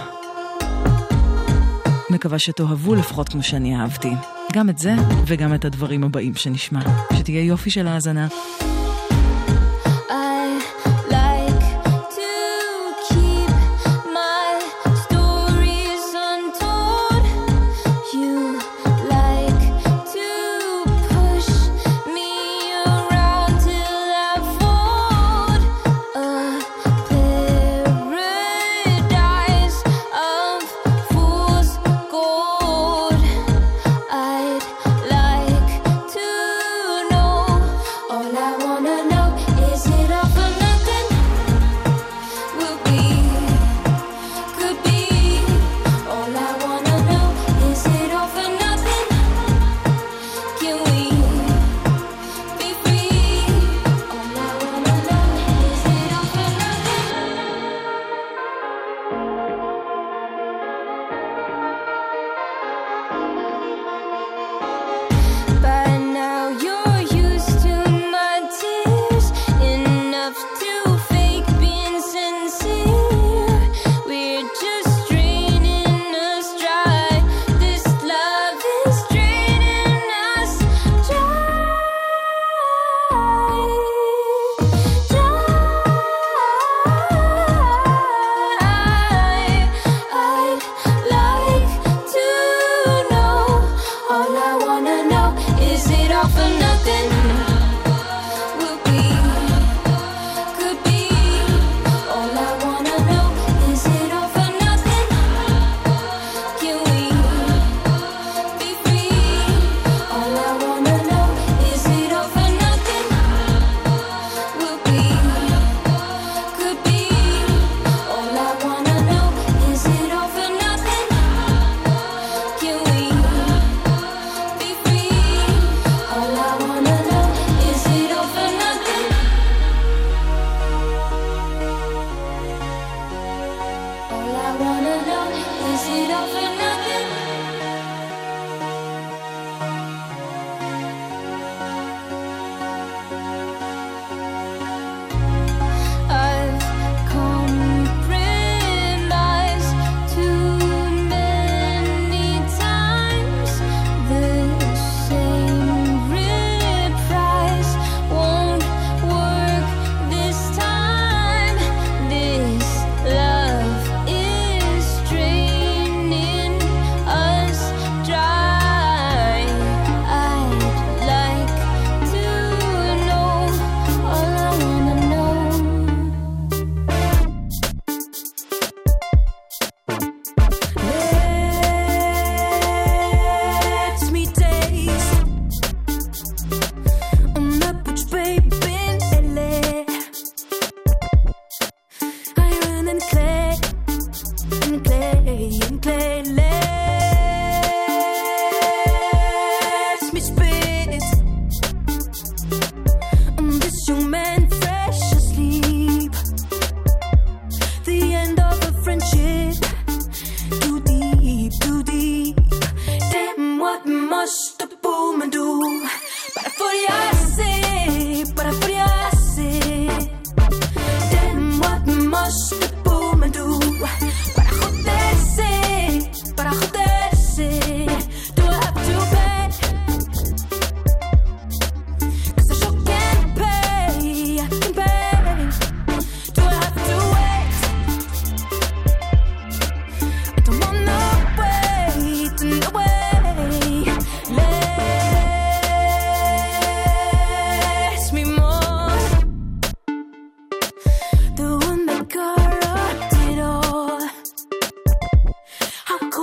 מקווה שתאהבו לפחות כמו שאני אהבתי. גם את זה וגם את הדברים הבאים שנשמע. שתהיה יופי של האזנה. All I wanna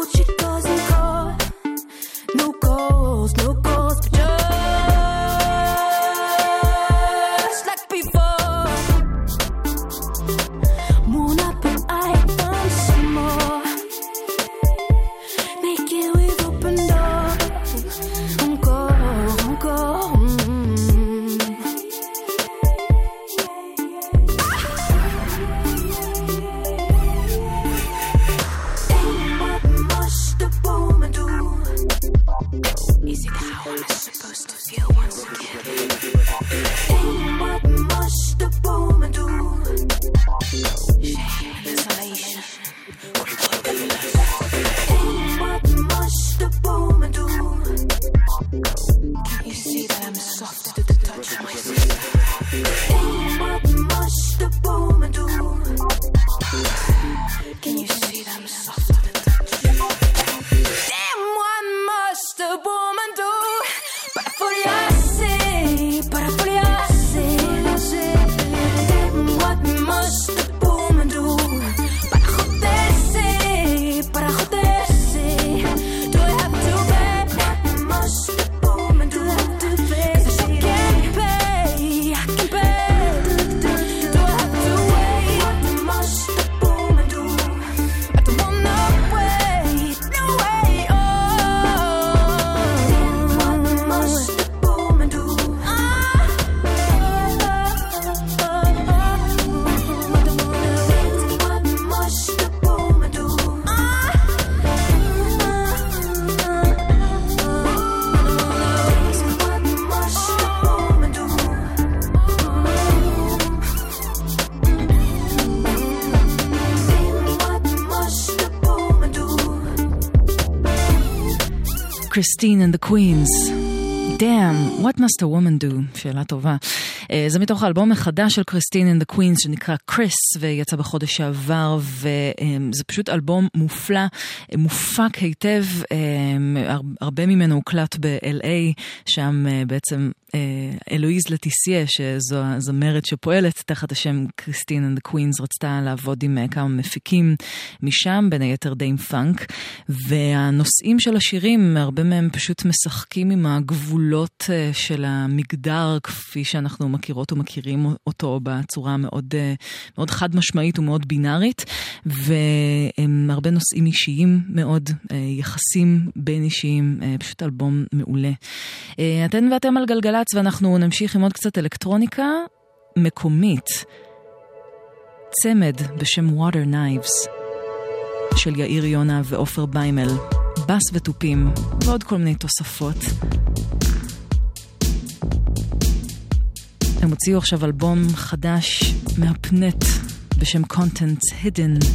she doesn't call. No calls, no calls, but just like before. Moon up and I want some more. Make it with open doors. Encore, encore. What must a woman do? Is it how I'm supposed to feel once again? What must a woman do? Shame and isolation. What must a woman do? Can you see that I'm soft to the touch of my sister? What must a woman do? Can you see that I'm soft to the touch? Damn, what must a woman do? Para foliarse, para foliarse. Damn, what must a woman do? Para joderse, para joderse. Do I have to pay? What must a woman do? Cause I can't pay, I can pay. Do I have to wait? What must a woman do? I don't want no wait, no way, oh. What must a woman do? What must a woman do? What must a woman do? What must a woman do? Christine and the Queens. Damn, what must a woman do? שאלה טובה. זה מתוך האלבום החדש של Christine and the Queens שנקרא קריס, ויצא בחודש שעבר, וזה פשוט אלבום מופלא, מופק היטב, הרבה ממנו הוקלט ב-LA, שם בעצם אלואיז לטיסיה, שזו הזמרת שפועלת תחת השם Christine and the Queens, רצתה לעבוד עם כמה מפיקים משם, בין היתר דיים פאנק, והנושאים של השירים, הרבה מהם פשוט משחקים עם הגבולות של המגדר, כפי שאנחנו מכירות ומכירים אותו בצורה מאוד, מאוד חד משמעית ומאוד בינארית, והרבה נושאים אישיים מאוד, יחסים בין אישיים, פשוט אלבום מעולה. אתן ואתם על גלגלץ, ואנחנו נמשיך עם עוד קצת אלקטרוניקה מקומית. צמד בשם Water Knives של יאיר יונה ואופר ביימל, בס וטופים ועוד כל מיני תוספות. הם הוציאו עכשיו אלבום חדש מהפנט בשם Contents Hidden,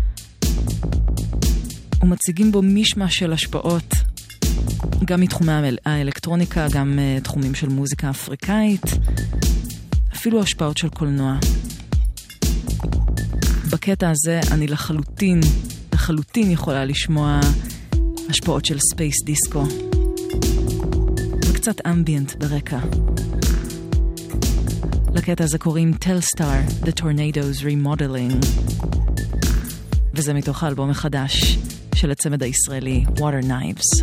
ומציגים בו משמע של השפעות, גם מתחומי האלקטרוניקה, גם תחומים של מוזיקה אפריקאית, אפילו השפעות של קולנוע. בקטע הזה אני לחלוטין יכולה לשמוע השפעות של ספייס דיסקו, וקצת אמביאנט ברקע. לקטע הזה קוראים Telstar, The Tornadoes Remodeling, וזה מתוך האלבום החדש של הצמד הישראלי Water Knives.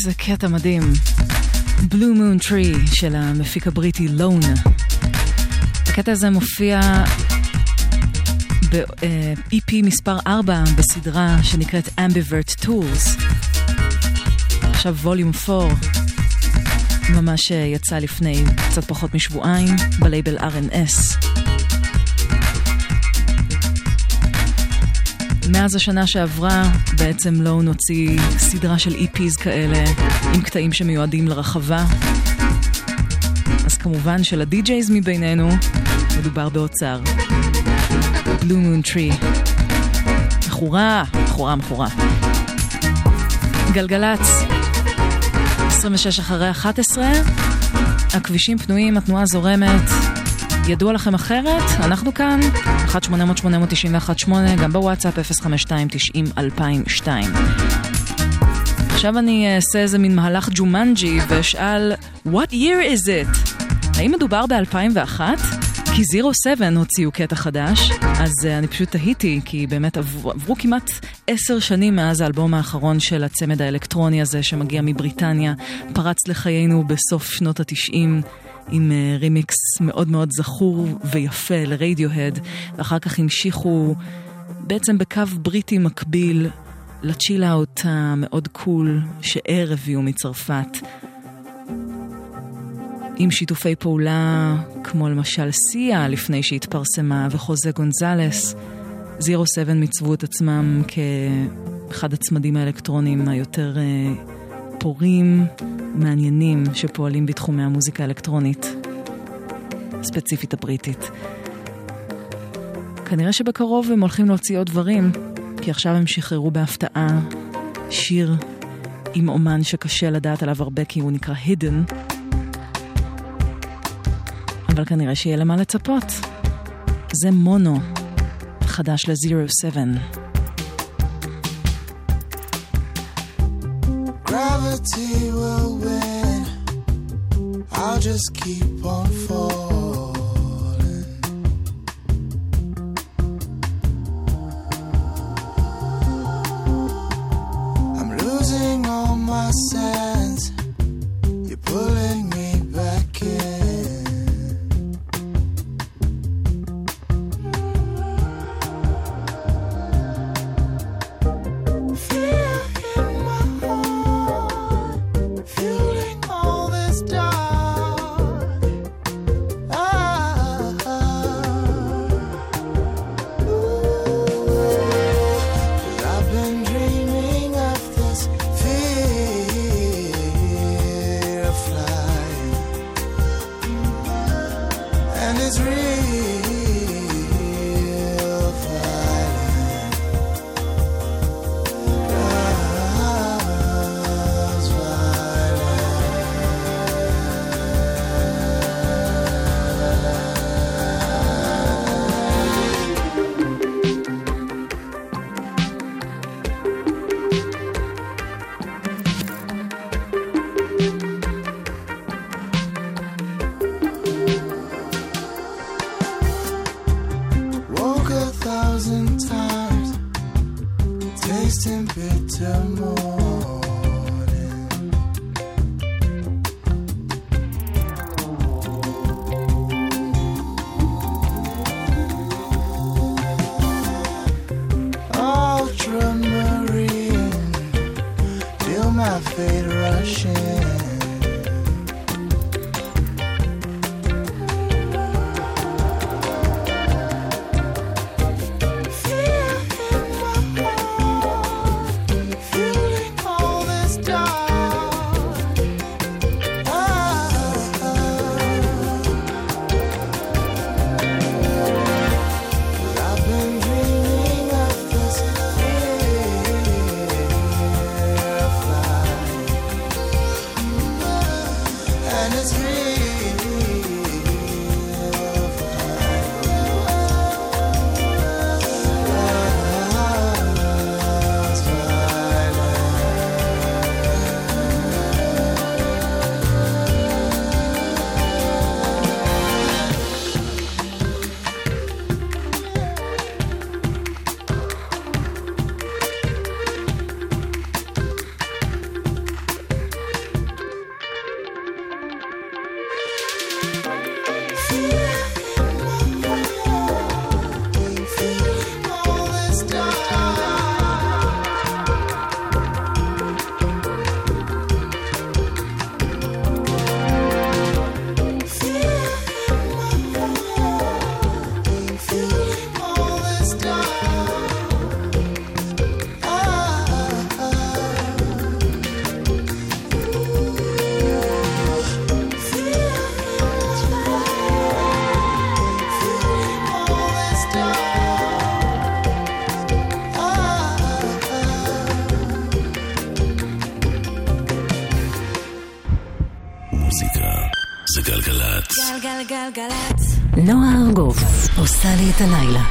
איזה קטע מדהים. Blue Moon Tree של המפיק הבריטי לון. הקטע הזה מופיע ב-EP מספר 4 בסדרה שנקראת Ambivert Tools. עכשיו ווליום 4 ממש יצא לפני קצת פחות משבועיים בלייבל R&S. מאז השנה שעברה בעצם לא נוציא סדרה של EPs כאלה עם קטעים שמיועדים לרחבה. אז כמובן של הדי-ג'ייז מבינינו מדובר באוצר. Blue Moon Tree. מחורה. גלגלץ. 26 אחרי 11. הכבישים פנויים, התנועה זורמת. ידוע לכם אחרת? אנחנו כאן. 1-800-891-8, גם בוואטסאפ 052-90-2002. עכשיו אני אעשה איזה מין מהלך ג'ומנג'י ואשאל, What year is it? האם מדובר ב-2001? כי 07 הוציאו קטע חדש, אז אני פשוט תהיתי, כי באמת עברו כמעט 10 שנים מאז האלבום האחרון של הצמד האלקטרוני הזה שמגיע מבריטניה, פרץ לחיינו בסוף שנות ה-90, עם רימיקס מאוד מאוד זכור ויפה לרדיוהד, ואחר כך המשיכו בעצם בקו בריטי מקביל לצ'יל-אוט המאוד קול שאר הביאו מצרפת, עם שיתופי פעולה כמו למשל סיה לפני שהתפרסמה וחוזה גונזלס. 07 מצוו את עצמם כאחד הצמדים האלקטרונים היותר פורים, מעניינים שפועלים בתחומי המוזיקה האלקטרונית, ספציפית הבריטית. כנראה שבקרוב הם הולכים להוציא עוד דברים, כי עכשיו הם שחררו בהפתעה שיר עם אומן שקשה לדעת עליו הרבה כי הוא נקרא Hidden, אבל כנראה שיהיה למה לצפות. זה מונו, חדש ל-07. Gravity will win. I'll just keep on falling. I'm losing all my sense. You're pulling me back in. גלגלצ. נועה ארגוב עושה לי את הלילה.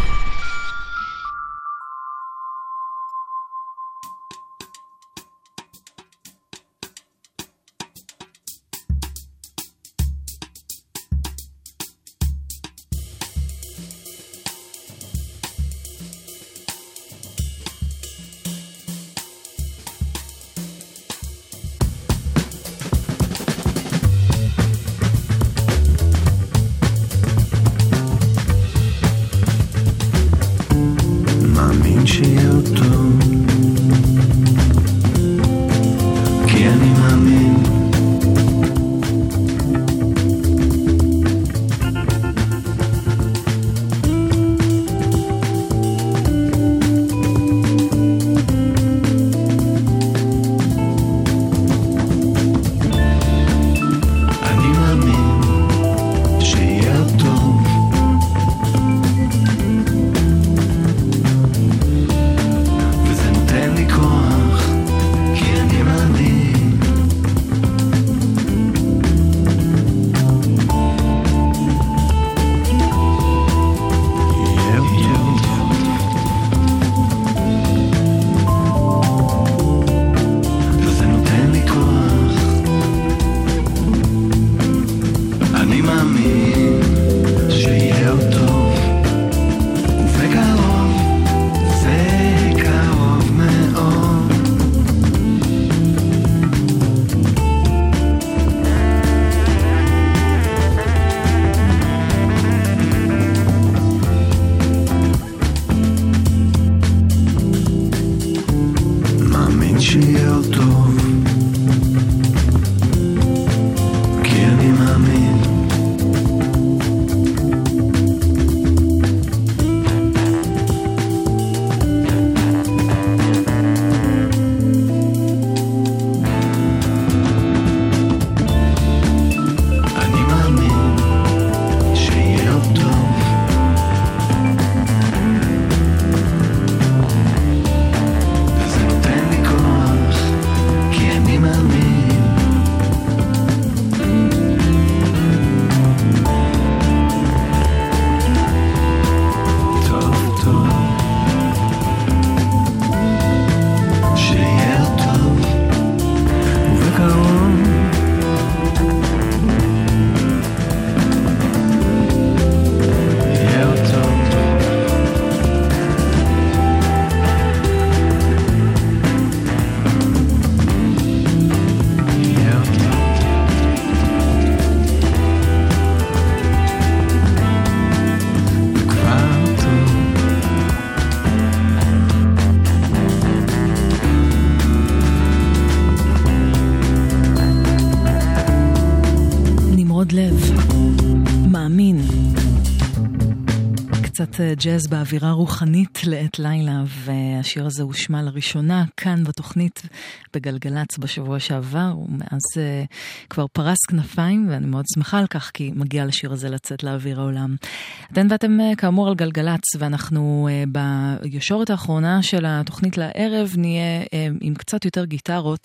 ג'אז באווירה רוחנית לעת לילה, והשיר הזה הושמע לראשונה כאן בתוכנית בגלגלץ בשבוע שעבר, ומאז כבר פרס כנפיים, ואני מאוד שמחה על כך, כי מגיע לשיר הזה לצאת לאוויר העולם. אתן ואתם כאמור על גלגלץ, ואנחנו בישורת האחרונה של התוכנית לערב נהיה עם קצת יותר גיטרות,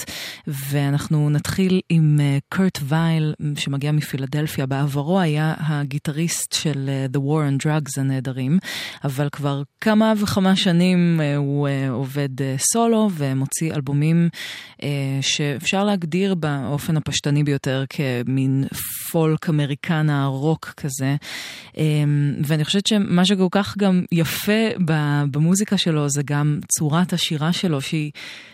ואנחנו נתחיל עם קורט וייל, שמגיע מפילדלפיה. בעברו היה הגיטריסט של The War on Drugs הנהדרים, אבל כבר כמה וכמה שנים הוא עובד סולו ומוציא אלבומים שאפשר להגדיר באופן הפשטני ביותר כמין פולק אמריקנה, רוק כזה. ואני חושבת שמה שכל כך גם יפה במוזיקה שלו זה גם צורת השירה שלו, שהיא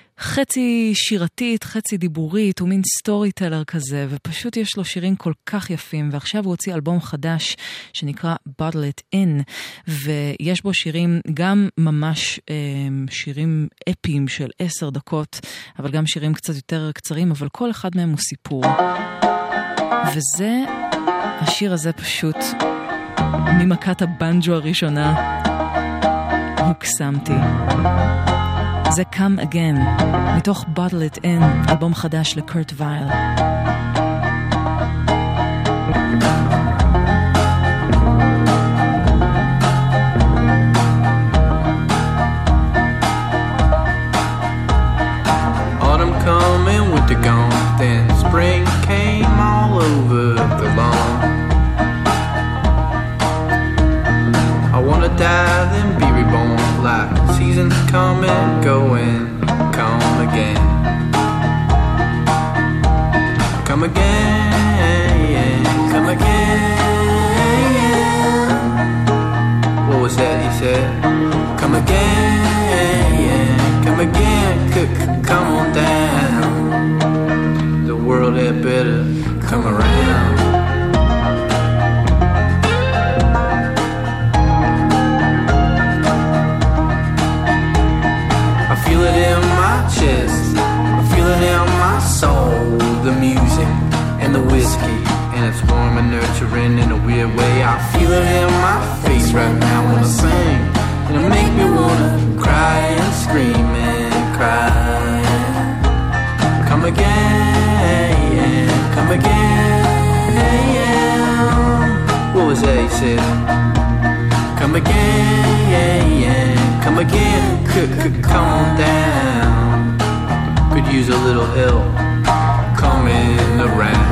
חצי שירתית, חצי דיבורית, הוא מין סטורי טלר כזה, ופשוט יש לו שירים כל כך יפים, ועכשיו הוא הוציא אלבום חדש שנקרא Bottle It In, ויש בו שירים גם ממש שירים אפיים של 10 דקות, אבל גם שירים קצת יותר קצרים, אבל כל אחד מהם הוא סיפור. וזה, השיר הזה פשוט, ממכת הבנג'ו הראשונה, הוקסמתי. זה Come Again, מתוך Bottle It In, אלבום חדש לקורט וייל. Autumn coming, winter gone, then spring came all over the lawn. die, then be reborn. Like seasons come and go and come again. Come again, come again. What was that he said? Come again, come again, come on down. The world had better come around. I feel it in my chest, I feel it in my soul. The music and the whiskey, and it's warm and nurturing in a weird way. I feel it in my face right now when I sing, and it make me wanna cry and scream and cry. Come again, come again. What was that he said? Come again, come again, come on down. Could use a little help coming around.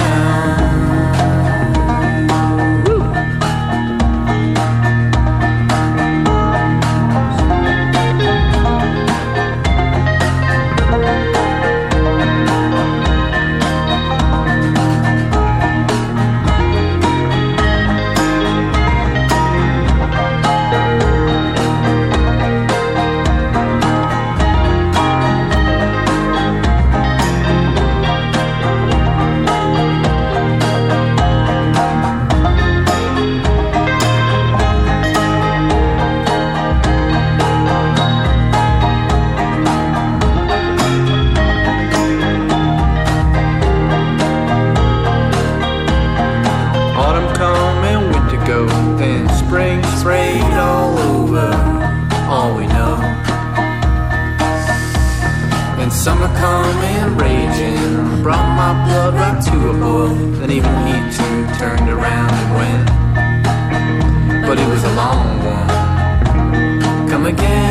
Summer coming, raging, brought my blood right to a boil. Then even he too turned around and went, but it was a long one. Come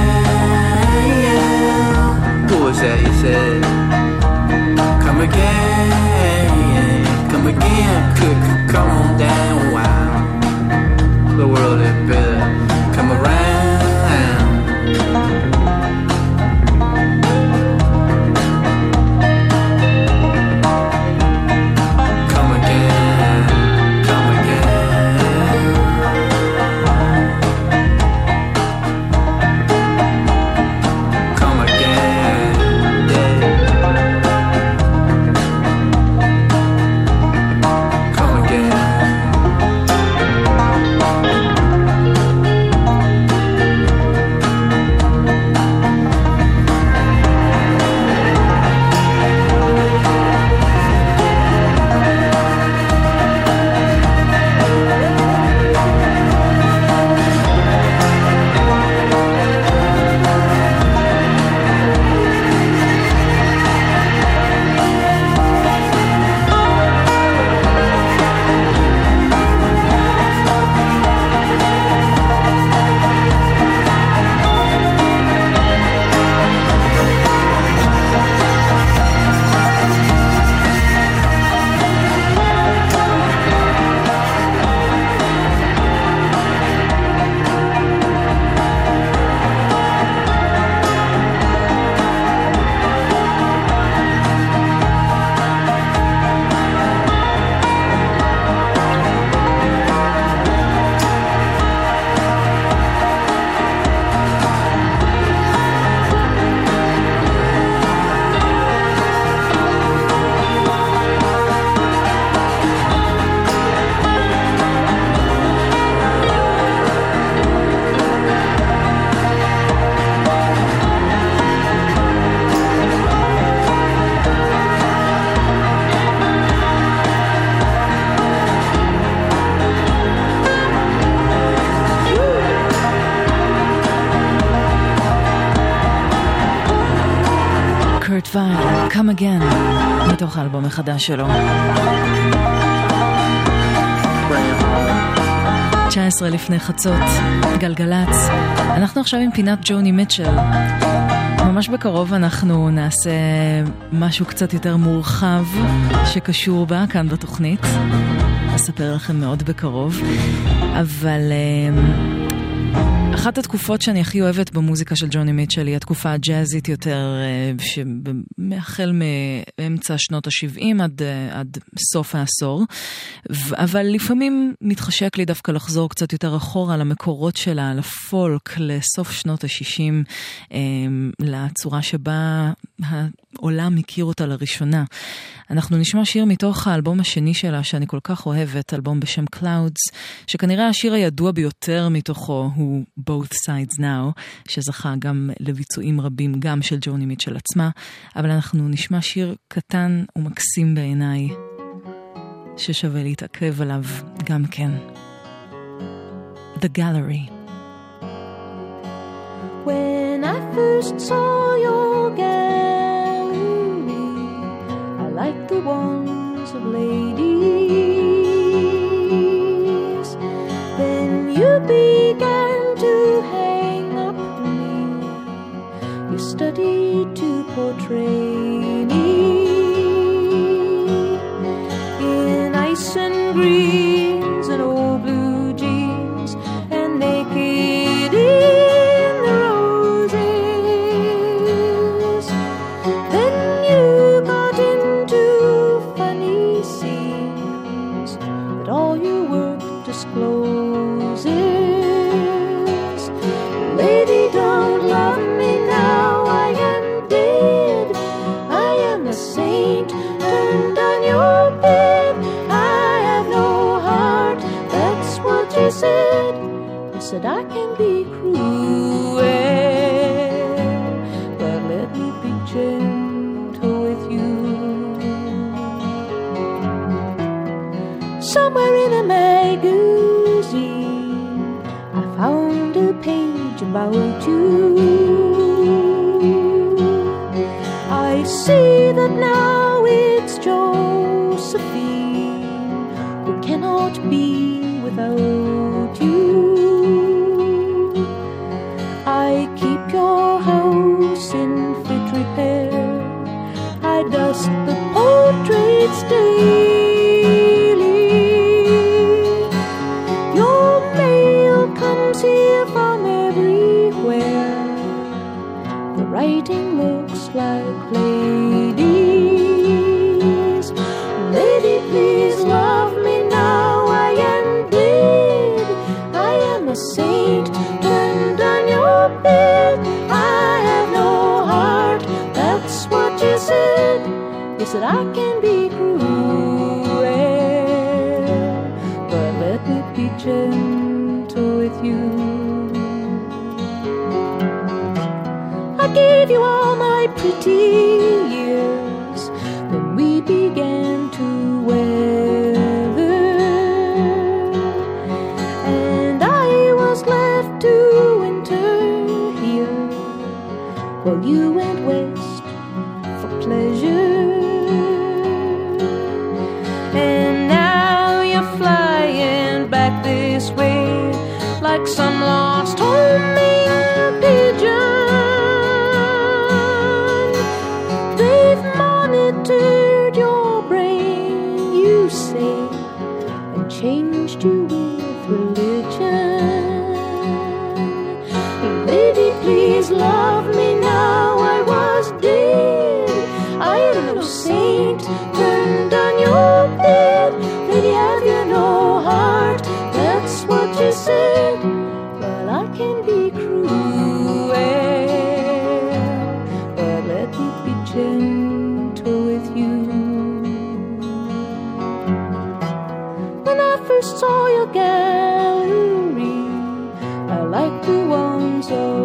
again, what was that you said? Come again, come again, come on down, wow. The world had better come around. Come Again, מתוך האלבום החדש שלו. 19 לפני חצות, גלגלץ. אנחנו עכשיו עם פינת ג'וני מיטשל. ממש בקרוב אנחנו נעשה משהו קצת יותר מורחב שקשור בה כאן בתוכנית. אספר לכם מאוד בקרוב. אבל אחת התקופות שאני הכי אוהבת במוזיקה של ג'וני מיטשל היא התקופה הג'אזית יותר, שמאחל מאמצע שנות ה-70 עד סוף העשור, אבל לפעמים מתחשק לי דווקא לחזור קצת יותר אחורה למקורות שלה, לפולק, לסוף שנות ה-60, לצורה שבה העולם הכיר אותה לראשונה. אנחנו נשמע שיר מתוך האלבום השני שלה שאני כל כך אוהבת, אלבום בשם Clouds, שכנראה השיר הידוע ביותר מתוכו הוא Both Sides Now, שזכה גם לביצועים רבים גם של ג'וני מיטשל עצמה, אבל אנחנו נשמע שיר קטן ומקסים בעיניי, ששווה להתעכב עליו גם כן. The Gallery. When I first saw your gallery, I liked the ones of ladies. Then you began to hang up me. You studied to portray me in ice and greens and old blue jeans and naked in the roses. Then you got into funny scenes that all your work discloses. Lady, don't love me now, I am dead. I am a saint turned on your bed. I have no heart, that's what you said. I said I can be cruel, but let me be gentle with you. Somewhere in a magazine I found a page about you. I see that now it's Josephine who cannot be without you. I keep your house in fit repair. I dust the portraits daily. Your mail comes here from everywhere. The writing looks like ladies. Lady, please love me now, I am dead. I am a saint turned on your bed. I have no heart, that's what you said. You said I can be cruel, but let me be gentle with you. I gave you all my pretty years, then we began to weather, and I was left to winter here, while you went west for pleasure. And now you're flying back this way like some lost homing pigeon. They've monitored your brain, you say, and changed you with religion. Lady, please love me now, I was dead. I am no saint turned on your bed. Lady, have you no heart, that's what you said. Well, I can be cruel, but let me be gentle with you. When I first saw your gallery, I liked the ones of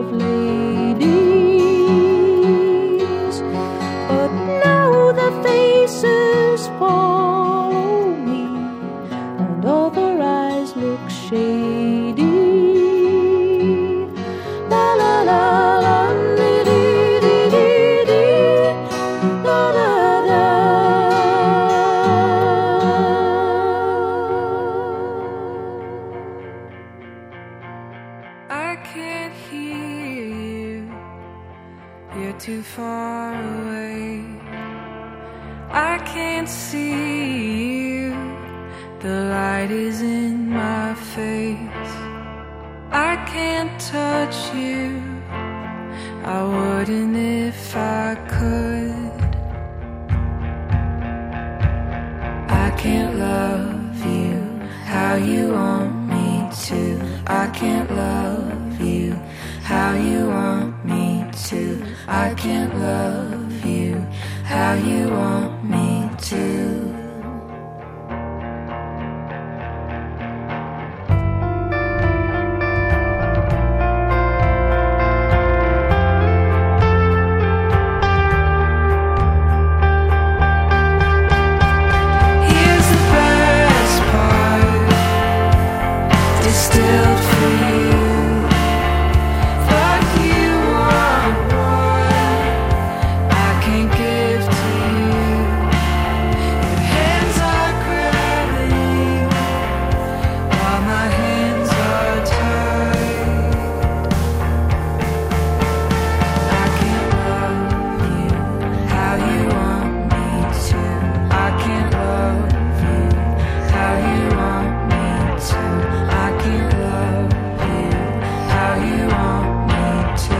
ladies, but now the faces follow me, and all their eyes look shady. La la la la, dee dee dee dee dee, la la la. I can't hear you, you're too far away. I can't see you, the light is in my face. I I can't touch you. I wouldn't if I could. I can't love you how you want me to. I can't love you how you want me to. I can't love you how you want me to. Distilled for you, but you are what I can't give to you. Your hands are grabbing while my hands are tied. I can't love you how you want me to. I can't love you how you want me to. I can't love you how you want me to.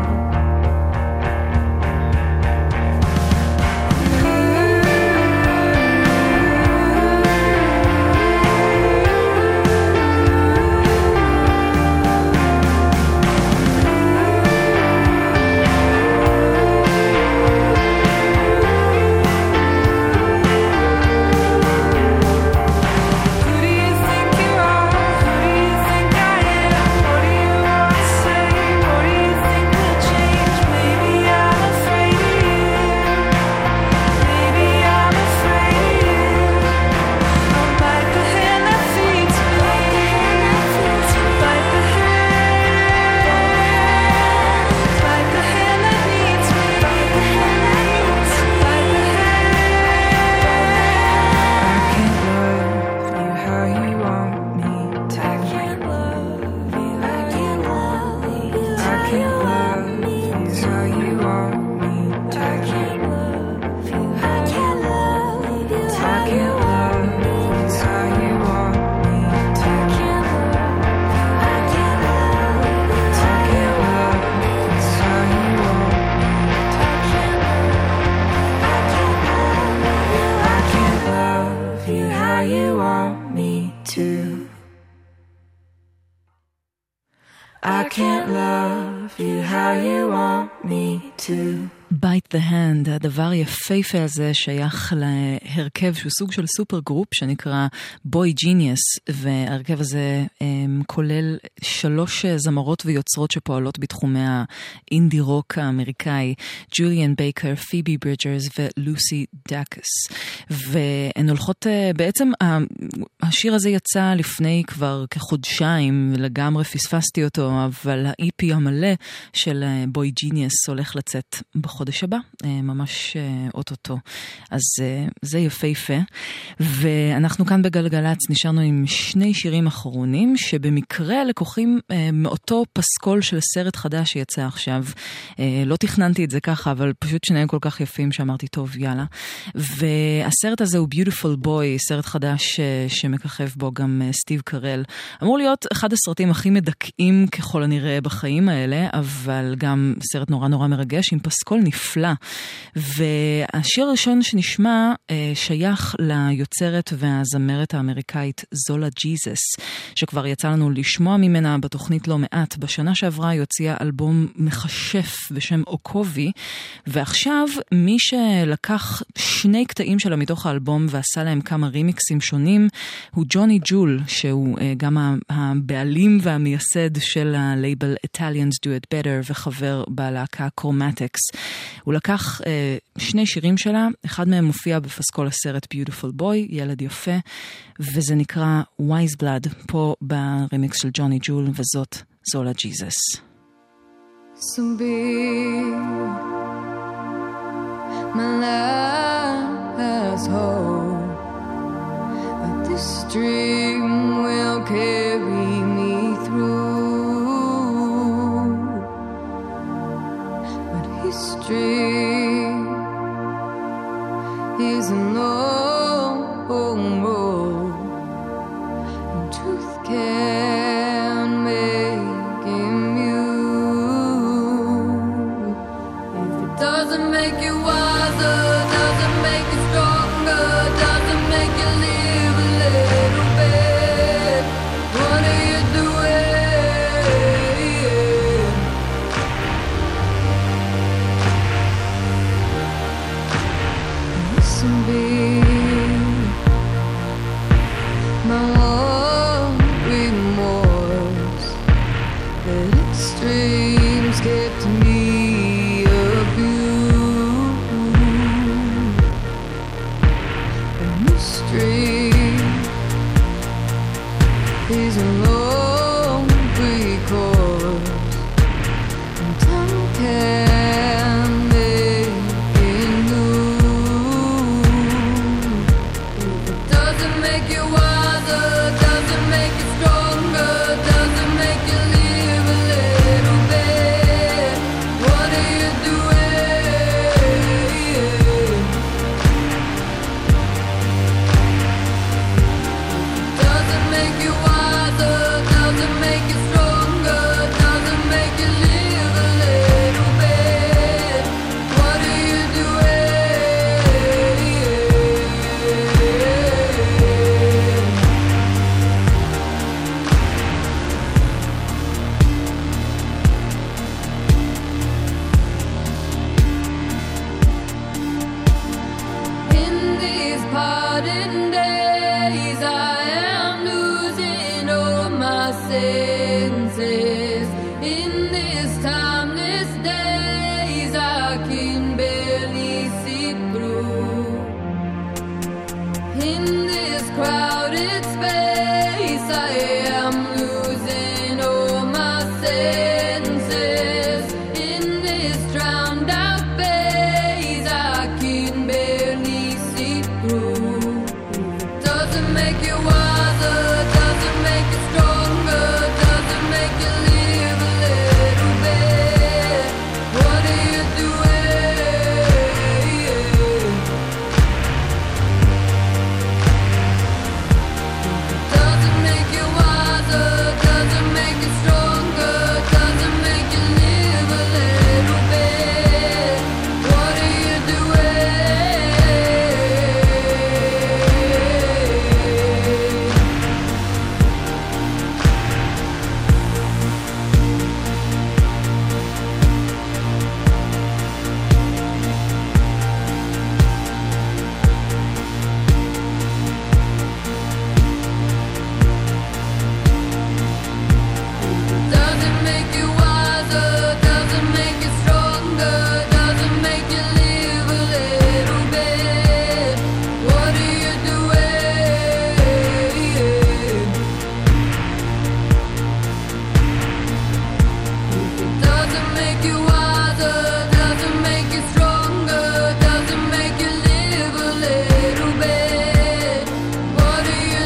Who do you think you are? Who do you think I am? What do you want to say? What do you think will change? Maybe I'm afraid of you. Maybe I'm afraid of you. I'll bite the hand that feeds me. Bite the hand. Bite the hand that needs me. Bite the hand. I can't love you how you want me to. I can't love you. I can't love you. I can't love you how you want me to. I can't love you. I can't love you. I can't love you how you want me to. I can't love you. I can't love you. I can't love you how you want me to. I can't love you how you want me to. I can't love you how you want me to. Bite the hand, הדבר יפהפה הזה שייך להרכב שהוא סוג של סופר גרופ שנקרא בוי ג'יניוס, וההרכב הזה כולל 3 זמרות ויוצרות שפועלות בתחומי האינדי רוק האמריקאי, ג'וליאן בייקר, פיבי ברידג'רס ולוסי דאקס, והן הולכות בעצם, השיר הזה יצא לפני כבר כחודשיים, לגמרי פספסתי אותו, אבל ה-EP המלא של בוי ג'יניוס הולך לצאת בחודש הבא, ממש אוטוטו. אז זה יפהפה. ואנחנו כאן בגלגלץ נשארנו עם 2 שירים אחרונים, שבמקרה לקוחים מאותו פסקול של סרט חדש שיצא עכשיו. לא תכננתי את זה ככה, אבל פשוט שניהם כל כך יפים שאמרתי, טוב, יאללה. והסרט הזה הוא Beautiful Boy, סרט חדש שמככב בו גם סטיב קרל. אמור להיות אחד הסרטים הכי מדכאים ככל הנראה בחיים האלה, אבל גם סרט נורא נורא מרגש, עם פסקול נפלא. והשיר הראשון שנשמע שייך ליוצרת והזמרת האמריקאית זולה ג'יזס, שכבר יצא לנו לשמוע ממנה בתוכנית לא מעט. בשנה שעברה היא הוציאה אלבום מחשף בשם אוקובי, ועכשיו מי שלקח 2 קטעים שלה מתוך האלבום ועשה להם כמה רימיקסים שונים, הוא ג'וני ג'ול, שהוא גם הבעלים והמייסד של הלייבל Italians Do It Better וחבר בלהקה קרומטיקס. הוא לקח 2 שירים שלה, אחד מהם מופיע בפסקול הסרט Beautiful Boy, ילד יפה, וזה נקרא Wise Blood, פה ברימיקס של ג'וני ג'ול, וזאת זולה ג'יזס. So big, my last hope that this dream will carry me through, but history is a long road, and truth can make That extremes kept me abused. A mystery is a long recourse, and time can make it new. It doesn't make you wiser, doesn't make you stronger, doesn't make you live a little bit. What are you doing? Doesn't make you wiser, doesn't make you stronger, doesn't make you live a little bit. What are you doing? In these parting days, I am losing all my senses. In these timeless days, I can barely see through. In this crowded space, I am losing all my senses. In this drowned out phase, I can barely see through. Doesn't make you wiser, doesn't make you stronger, doesn't make you live a little bit. What are you doing? Doesn't make you wiser, doesn't make you stronger, doesn't make you live a little bit. What are you Doesn't make you wiser, doesn't make you stronger, doesn't make you live a little bit. What are you doing? Doesn't make you wiser, doesn't make you stronger, doesn't make you live a little bit. What are you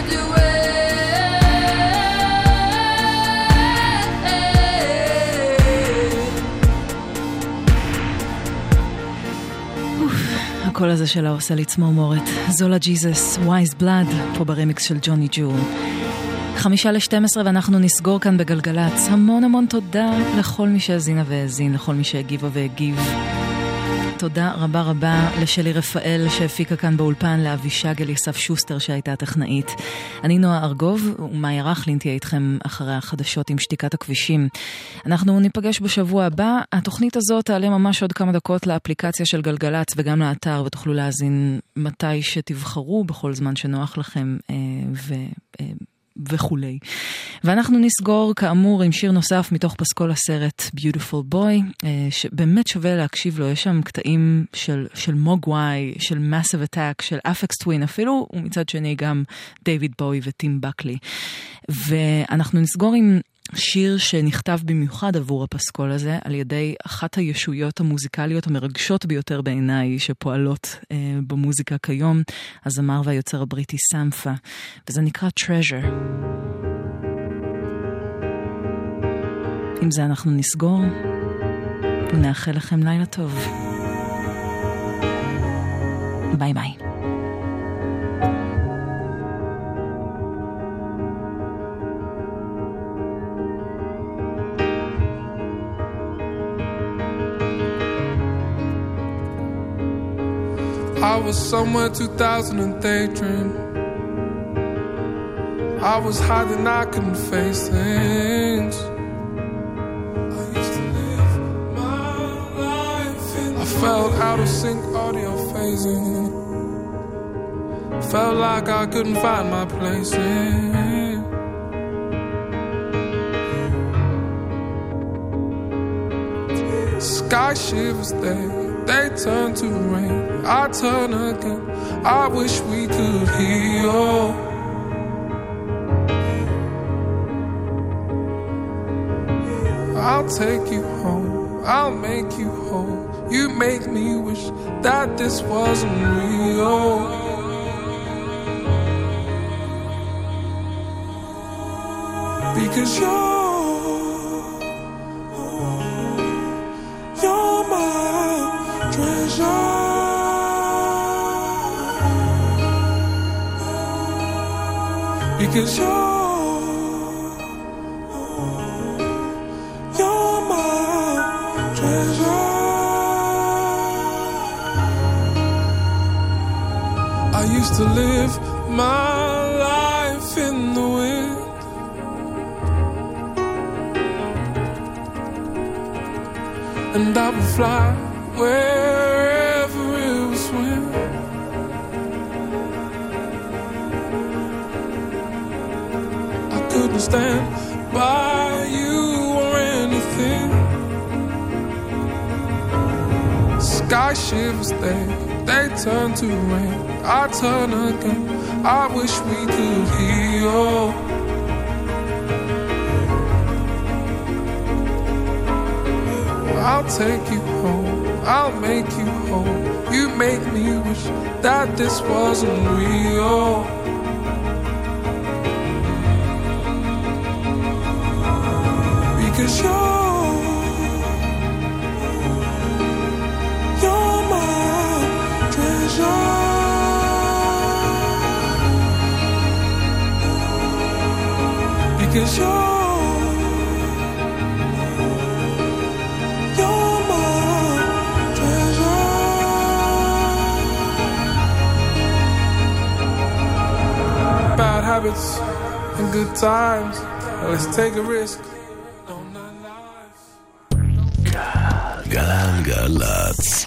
doing? הקול הזה שלה עושה לי צמרמורת. זולה ג'יזוס, וייז בלאד, פה ברמיקס של ג'וני ג'ול. 11:55 ואנחנו נסגור כאן בגלגלץ. המון המון תודה לכל מי שהזינה והזין, לכל מי שהגיבה והגיב. תודה רבה רבה לשלי רפאל שהפיקה כאן באולפן, לאבישג אליסף שוסטר שהייתה טכנאית. אני נועה ארגוב ומאיה רכלין תהיה איתכם אחרי החדשות עם שתיקת הכבישים. אנחנו ניפגש בשבוע הבא. התוכנית הזאת תעלה ממש עוד כמה דקות לאפליקציה של גלגלץ וגם לאתר, ותוכלו להזין מתי שתבחרו בכל זמן שנוח לכם וכולי. ואנחנו נסגור כאמור עם שיר נוסף מתוך פסקול הסרט Beautiful Boy, שבאמת שווה להקשיב לו. יש שם קטעים של מוגוואי, של Massive Attack, של Aphex Twin אפילו, ומצד שני גם דיוויד בואי וטים בקלי. ואנחנו נסגור עם שיר שנכתב במיוחד עבור הפסקול הזה על ידי אחת הישויות המוזיקליות המרגשות ביותר בעיניי שפועלות במוזיקה כיום, הזמר והיוצר הבריטי סמפה, וזה נקרא Treasure. עם זה אנחנו נסגור ונאחל לכם לילה טוב. ביי ביי. I was somewhere 2000 daydream. I was hiding, I couldn't face things. I used to live my life I felt out of sync, audio phasing. Felt like I couldn't find my place in. Sky shivers, they turn to rain. I turn again. I wish we could heal. I'll take you home, I'll make you whole. You make me wish that this wasn't real. Because you're my treasure. Because you're my treasure. I used to live my life in the wind, and I would fly wherever it was wind. I couldn't stand by you or anything. Sky shivers, they turn to rain. I turn again. I wish we could heal. I'll take you home, I'll make you whole. You make me wish that this wasn't real. Because you're my treasure. Because you're bad habits and good times. Let's take a risk. גלגלצ.